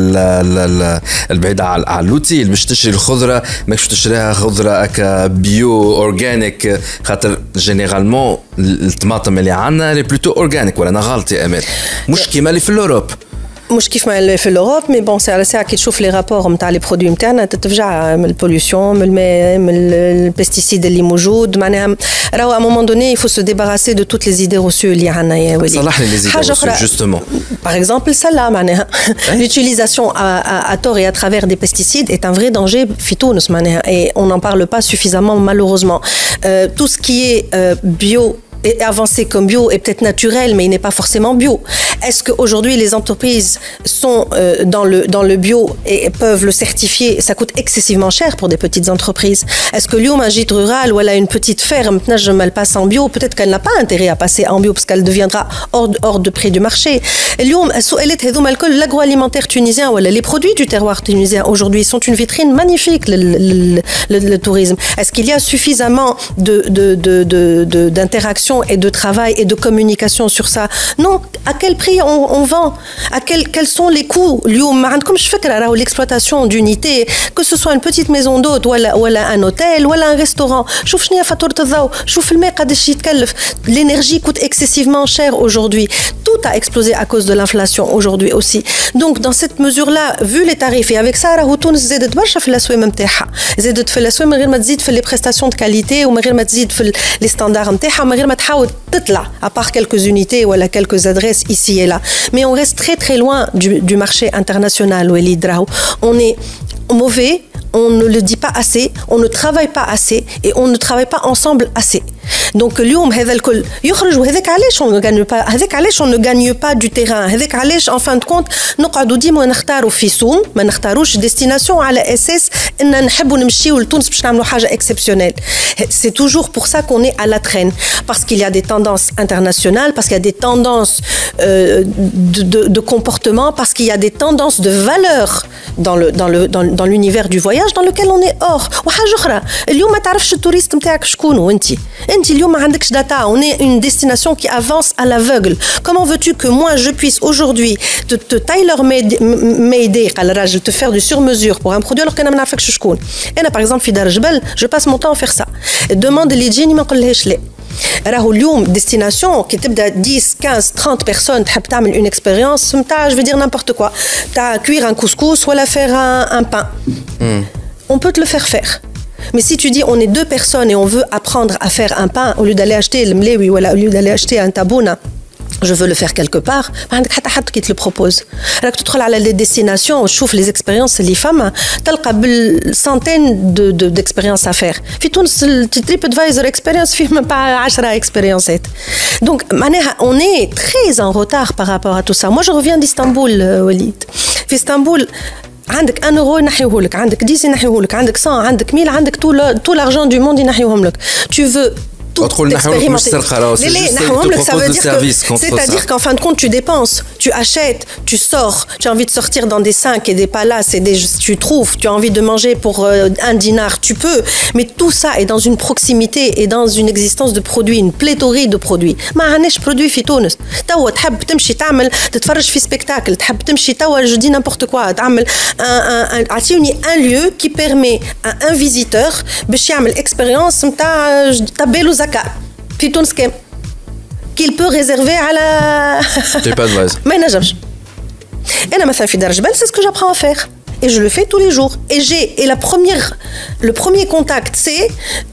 البعيده على اللوتي اللي باش تشري الخضره ماكش تشريها خضره هكا بيو اورجانيك خاطر جينيرالمون الطماطم اللي عندنا لي بلوتو اورجانيك ولا انا غلط يا امال مش كيما اللي في الاوروب مش كيف ما في الأوروب مي بون سي على ساعة كي تشوف لي رابور نتاع لي برودوي نتاعنا تتفجع من البوليوشن من الماء من البيستيسيد اللي موجود معناها راهو ا مومون دوني يفو سو ديباراسي دو توت لي زيدي روسو اللي عندنا يا وليد صلحني لي زيدي روسو جوستومون باغ اكزومبل سلا معناها l'utilisation à tort et à travers des pesticides est un vrai danger في تونس معناها et on n'en parle pas suffisamment malheureusement tout ce qui est bio est avancé comme bio et peut-être naturel, mais il n'est pas forcément bio. Est-ce qu'aujourd'hui les entreprises sont dans le bio et peuvent le certifier? Ça coûte excessivement cher pour des petites entreprises. Est-ce que l'homme un gîte rural ou elle a une petite ferme, elle passe en bio, peut-être qu'elle n'a pas intérêt à passer en bio parce qu'elle deviendra hors de prix du marché. L'agroalimentaire tunisien ou les produits du terroir tunisien aujourd'hui sont une vitrine magnifique, le tourisme. Est-ce qu'il y a suffisamment d'interaction et de travail et de communication sur ça? Non. À quel prix on vend? Quels sont les coûts? Comme je fais l'exploitation d'unités, que ce soit une petite maison d'hôte ou un hôtel ou un restaurant. L'énergie coûte excessivement cher aujourd'hui. Tout a explosé à cause de l'inflation aujourd'hui aussi. Donc dans cette mesure-là, vu les tarifs et avec ça, Tunis زادت برشا في الأسواق نتاعها. زادت في الأسواق من غير ما تزيد في les prestations de qualité ومن غير ما تزيد في les standards نتاعها ومن غير ما تحاول تطلع à part quelques unités ou quelques adresses ici et là. Mais on reste très très loin du marché international où on est mauvais, on ne le dit pas assez, on ne travaille pas assez et on ne travaille pas ensemble assez. Donc اليوم هذا الكل يخرج وهذاك علاش on ne gagne pas هذاك علاش on ne gagne pas du terrain هذاك علاش en fin de compte نقعدوا ديما نختاروا في سوم ما نختاروش destination على اساس ان نحبوا نمشيو لتونس باش نعملوا حاجه exceptionnelle. C'est toujours pour ça qu'on est à la traîne parce qu'il y a des tendances internationales, parce qu'il y a des tendances de comportement, parce qu'il y a des tendances de valeurs dans l'univers du voyage dans lequel on est hors. وحاجه اخرى اليوم ما تعرفش التوريست نتاعك شكون انت اليوم ما عندكش data. On est une destination qui avance à l'aveugle. Comment veux-tu que moi je puisse aujourd'hui te tailor-made على الراجل te faire du sur-mesure pour un produit alors que انا ما نعرفكش شكون. انا par exemple في دار جبل je passe mon temps à faire ça. demande اللي تجيني ما نقولهاش لا. راهو اليوم destination qui تبدا 10 15 30 personnes تحب تعمل une expérience نتاع je veux dire n'importe quoi تاع cuire un couscous ولا faire un pain. On peut te le faire. Mais si tu dis on est deux personnes et on veut apprendre à faire un pain au lieu d'aller acheter le mlewi ou au lieu d'aller acheter un tabouna, je veux le faire quelque part, ما عندك حتى حد qui te le propose. راك تدخل على les destinations وتشوف les expériences اللي فما تلقى بالسنتين d'expériences à faire. في تونس التريب ادفايزر expérience فيه même pas 10 expériences. Donc معناها on est très en retard par rapport à tout ça. Moi je reviens d'Istanbul وليد. في اسطنبول عندك 1 euro ينحيوهولك، عندك 10 ينحيوهولك، عندك 100، عندك 1000، عندك tout l'argent du monde ينحيوهم لك. Tu veux tout expérimenter. Ça veut dire que, c'est-à-dire qu'en fin de compte, tu dépenses, tu achètes, tu sors, tu as envie de sortir dans des 5 et des palaces et tu trouves, tu as envie de manger pour 1 dinar, tu peux, mais tout ça est dans une proximité et dans une existence de produits, une pléthorie de produits. ما عندناش produits في تونس. توا تحب تمشي تعمل تتفرج في سبيكتاكل، تحب تمشي توا je dis n'importe quoi، تعمل عطيوني un lieu qui permet à un visiteur باش يعمل expérience نتاع تبالو زكاة في تونس كام qu'il peut réserver على ما ينجمش. أنا مثلا في دار جبل c'est ce que j'apprends à faire et je le fais tous les jours et le premier contact c'est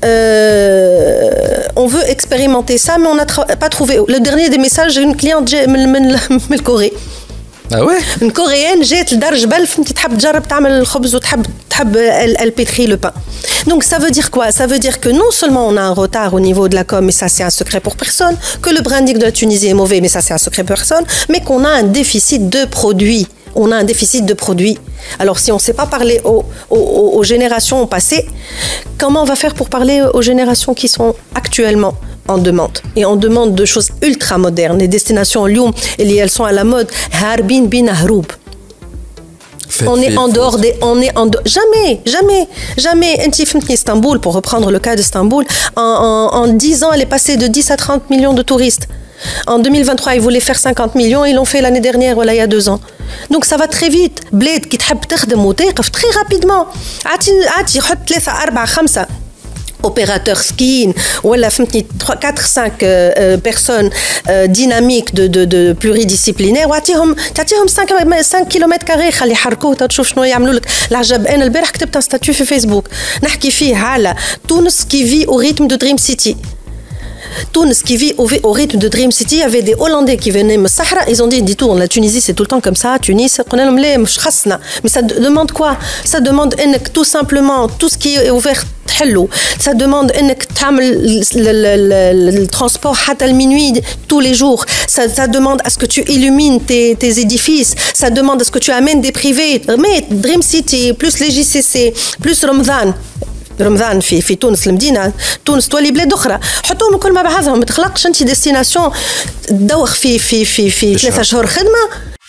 on veut expérimenter ça mais on n'a pas trouvé. Le dernier des messages, j'ai une cliente من Corée. Ah ouais? Une coréenne جات لدار جبل فهمتي تحب تجرب تعمل الخبز وتحب elle pétrit le pain. Donc ça veut dire quoi? Ça veut dire que non seulement on a un retard au niveau de la com, et ça c'est un secret pour personne, que le branding de la Tunisie est mauvais, mais ça c'est un secret pour personne, mais qu'on a un déficit de produits. On a un déficit de produits. Alors si on ne sait pas parler aux générations passées, comment on va faire pour parler aux générations qui sont actuellement en demande? Et on demande de choses ultra modernes. Les destinations Lyon, elles sont à la mode. Harbin bin Haroub. On est en dehors des... Jamais. Istanbul, pour reprendre le cas d'Istanbul, en 10 ans, elle est passée de 10 à 30 millions de touristes. En 2023, ils voulaient faire 50 millions, ils l'ont fait l'année dernière, voilà, il y a 2 ans. Donc ça va très vite. Bled qui تحب تخدم وتوقف très rapidement. عادي حط 3 4 5 opérateurs skiing ou 4-5 personnes dynamiques de pluridisciplinaires وعطيهم 5 km² خلي يحركوه تشوف شنو يعملوا لك العجب. انا البارح كتبت un statut في فيسبوك نحكي فيه على تونس qui vit au rythme de Dream City. Tunis qui vit au rythme de Dream City, il y avait des Hollandais qui venaient me Sahara, ils ont dit dis-toi, la Tunisie c'est tout le temps comme ça, Tunis, mais ça demande quoi? Ça demande tout simplement tout ce qui est ouvert. Ça demande le transport à minuit tous les jours. Ça demande à ce que tu illumines tes édifices. Ça demande à ce que tu amènes des privés. Mais Dream City, plus les JCC, plus رمضان في تونس المدينه تونس تولي بلاد اخرى حطوهم كل مع بعضهم ما تخلقش انت ديستيناسيون تدوخ في 3 شهور خدمه.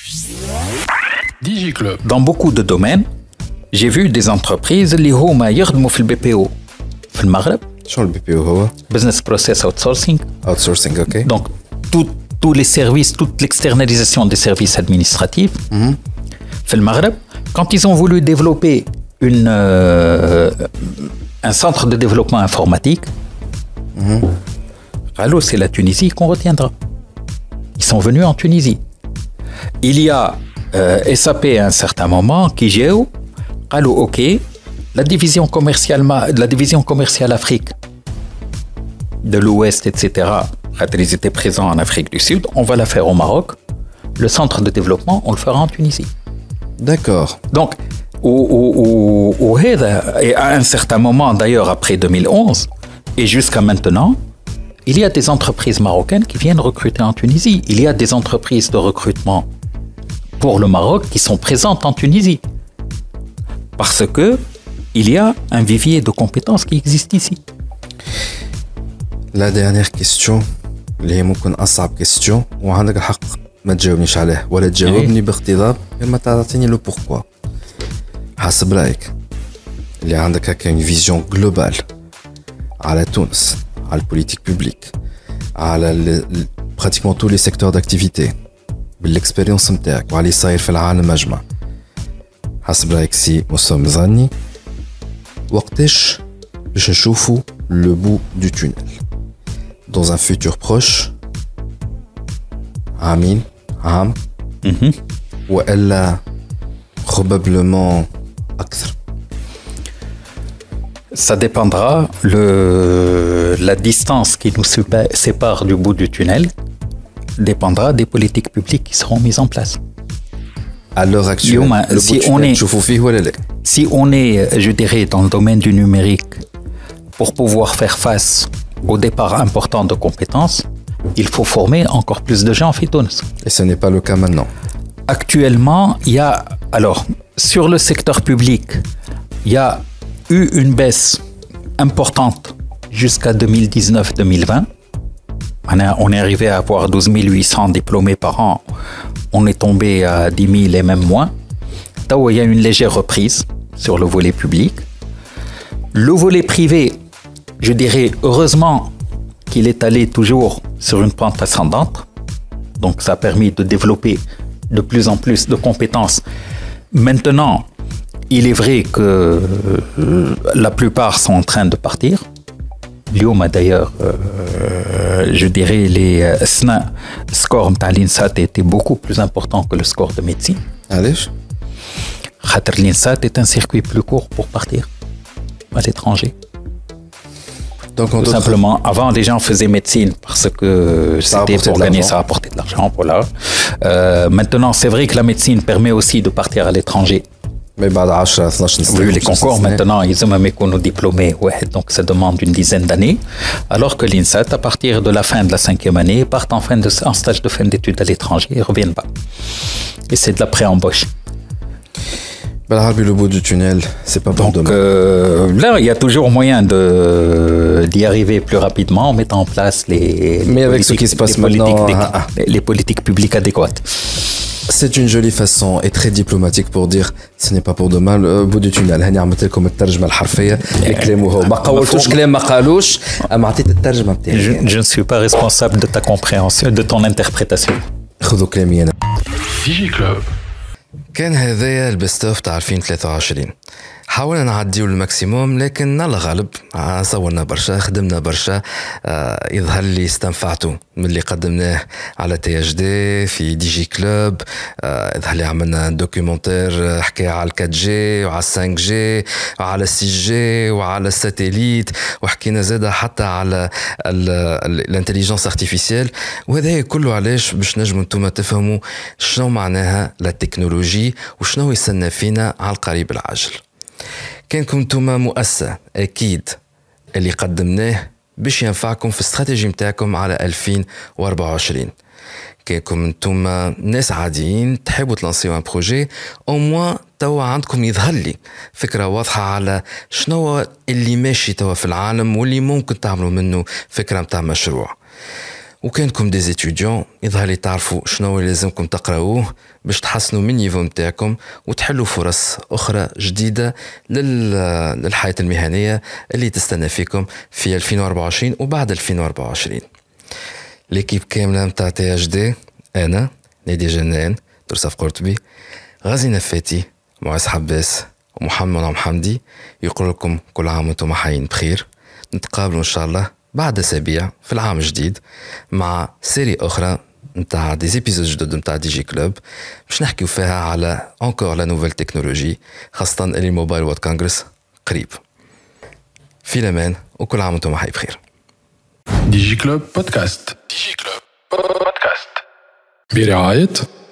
ديجي كلوب. Dans beaucoup de domaines, j'ai vu des entreprises اللي هما يخدموا في البي بي او في المغرب. شنو البي بي او هو؟ Business Process Outsourcing. Outsourcing, ok. Donc tous les services, toute l'externalisation des services administratifs في المغرب. Quand ils ont voulu développer un centre de développement informatique, alors c'est la Tunisie qu'on retiendra. Ils sont venus en Tunisie. Il y a SAP à un certain moment qui gère, alors ok, la division commerciale Afrique de l'Ouest, etc. Ils étaient présents en Afrique du Sud, on va la faire au Maroc. Le centre de développement, on le fera en Tunisie. D'accord. Donc et à un certain moment, d'ailleurs après 2011 et jusqu'à maintenant, il y a des entreprises marocaines qui viennent recruter en Tunisie. Il y a des entreprises de recrutement pour le Maroc qui sont présentes en Tunisie. Parce que il y a un vivier de compétences qui existe ici. La dernière question, اللي هي ممكن أصعب question وعندك الحق ما تجاوبنيش عليه ولا تجاوبني باقتضاب ما تعطيني لو pourquoi. حسب رأيك اللي عندك هكا une vision globale على تونس على البوليتيك بوبليك على pratiquement tous les secteurs d'activité بالاكسبيريونس نتاعك وعلى اللي صاير في العالم أجمع. حسب رأيك سي موسى مزاني وقتاش باش نشوفوا le bout du tunnel dans un futur proche عامين عام وإلا probablement أكثر. Ça dépendra. La distance qui nous sépare du bout du tunnel dépendra des politiques publiques qui seront mises en place. À l'heure actuelle, si on est, je dirais, dans le domaine du numérique, pour pouvoir faire face au départ important de compétences, il faut former encore plus de gens en Tunis. Et ce n'est pas le cas maintenant. Actuellement, il y a, alors, sur le secteur public, il y a eu une baisse importante jusqu'à 2019-2020. On est arrivé à avoir 12 800 diplômés par an. On est tombé à 10 000 et même moins. Il y a une légère reprise sur le volet public. Le volet privé, je dirais, heureusement qu'il est allé toujours sur une pente ascendante. Donc, ça a permis de développer de plus en plus de compétences. Maintenant, il est vrai que la plupart sont en train de partir. Lyon, d'ailleurs, je dirais, les scores de l'INSAT étaient beaucoup plus importants que le score de médecine. Allez. L'INSAT est un circuit plus court pour partir à l'étranger. Donc, tout simplement, avant, les gens faisaient médecine parce que c'était pour gagner, ça rapportait de l'argent. Voilà. Maintenant, c'est vrai que la médecine permet aussi de partir à l'étranger. Mais vu les concours, maintenant, ils ont même qu'on nous diplômés, ouais, donc ça demande une dizaine d'années. Alors que l'INSAT, à partir de la fin de la 5e année, partent en stage de fin d'études à l'étranger et reviennent pas. Et c'est de la pré-embauche. Le bout du tunnel, c'est pas bon. Donc là, il y a toujours moyen d'y arriver plus rapidement en mettant en place Mais avec ce qui se passe maintenant, les politiques publiques adéquates. C'est une jolie façon et très diplomatique pour dire ce n'est pas pour demain le bout du tunnel. هني عملت لكم الترجمة الحرفية لكلامه هو ما قولتوش كلام ما قالوش أما عطيت الترجمة بتاعي. Je ne suis pas responsable de ta compréhension, de ton interprétation. خذوا كلامي أنا. ديجي كلوب. كان هذايا البيست اوف تاع 2023. حاولنا نعديو الماكسيموم لكن الله غالب صورنا برشا خدمنا برشا يظهر لي استنفعتوا من اللي قدمناه على تي اش دي في دي جي كلوب يظهر لي عملنا دوكيومنتير حكايه على 4 جي وعلى 5 جي وعلى 6 جي وعلى الساتيليت وحكينا زاده حتى على الانتليجنس ارتيفيسيال وهذا كله علاش باش نجموا انتم تفهموا شنو معناها لا تكنولوجي وشنو يستنى فينا على القريب العاجل. كانكم نتوما مؤسسة أكيد اللي قدمناه باش ينفعكم في الاستراتيجي متاعكم على 2024. كانكم نتوما ناس عاديين تحبوا تلانسيو ان بروجي او موان توا عندكم يظهر لي فكرة واضحة على شنو اللي ماشي توا في العالم واللي ممكن تعملوا منه فكرة متاع مشروع. وكانكم دي زيتوديون يظهر لي تعرفوا شنو لازمكم تقراوه باش تحسنوا من نيفو متاعكم وتحلوا فرص أخرى جديدة للحياة المهنية اللي تستنى فيكم في 2024 وبعد 2024. ليكيب كاملة متاع تي اش دي أنا نادي جنان درصف قرطبي غازي نفاتي معز حباس ومحمد محمدي يقول لكم كل عام وانتم حيين بخير. نتقابلوا إن شاء الله بعد أسابيع في العام الجديد مع سيري أخرى نتاع دي زيبيزود جدد نتاع دي جي كلوب باش نحكيو فيها على انكور لا نوفيل تكنولوجي خاصة اللي الموبايل وورد كونغرس قريب. في الأمان وكل عام وانتم حي بخير. دي جي كلوب بودكاست. دي جي كلوب بودكاست برعاية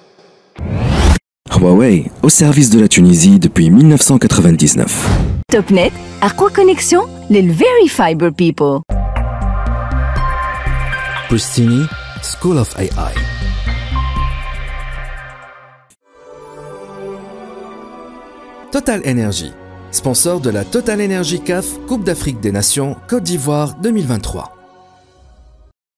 Huawei, au service de la Tunisie depuis 1999. Topnet, أقوى connexion لل Very Fiber People. Pristini, School of AI. Total Energy, sponsor de la Total Energy CAF Coupe d'Afrique des Nations Côte d'Ivoire 2023.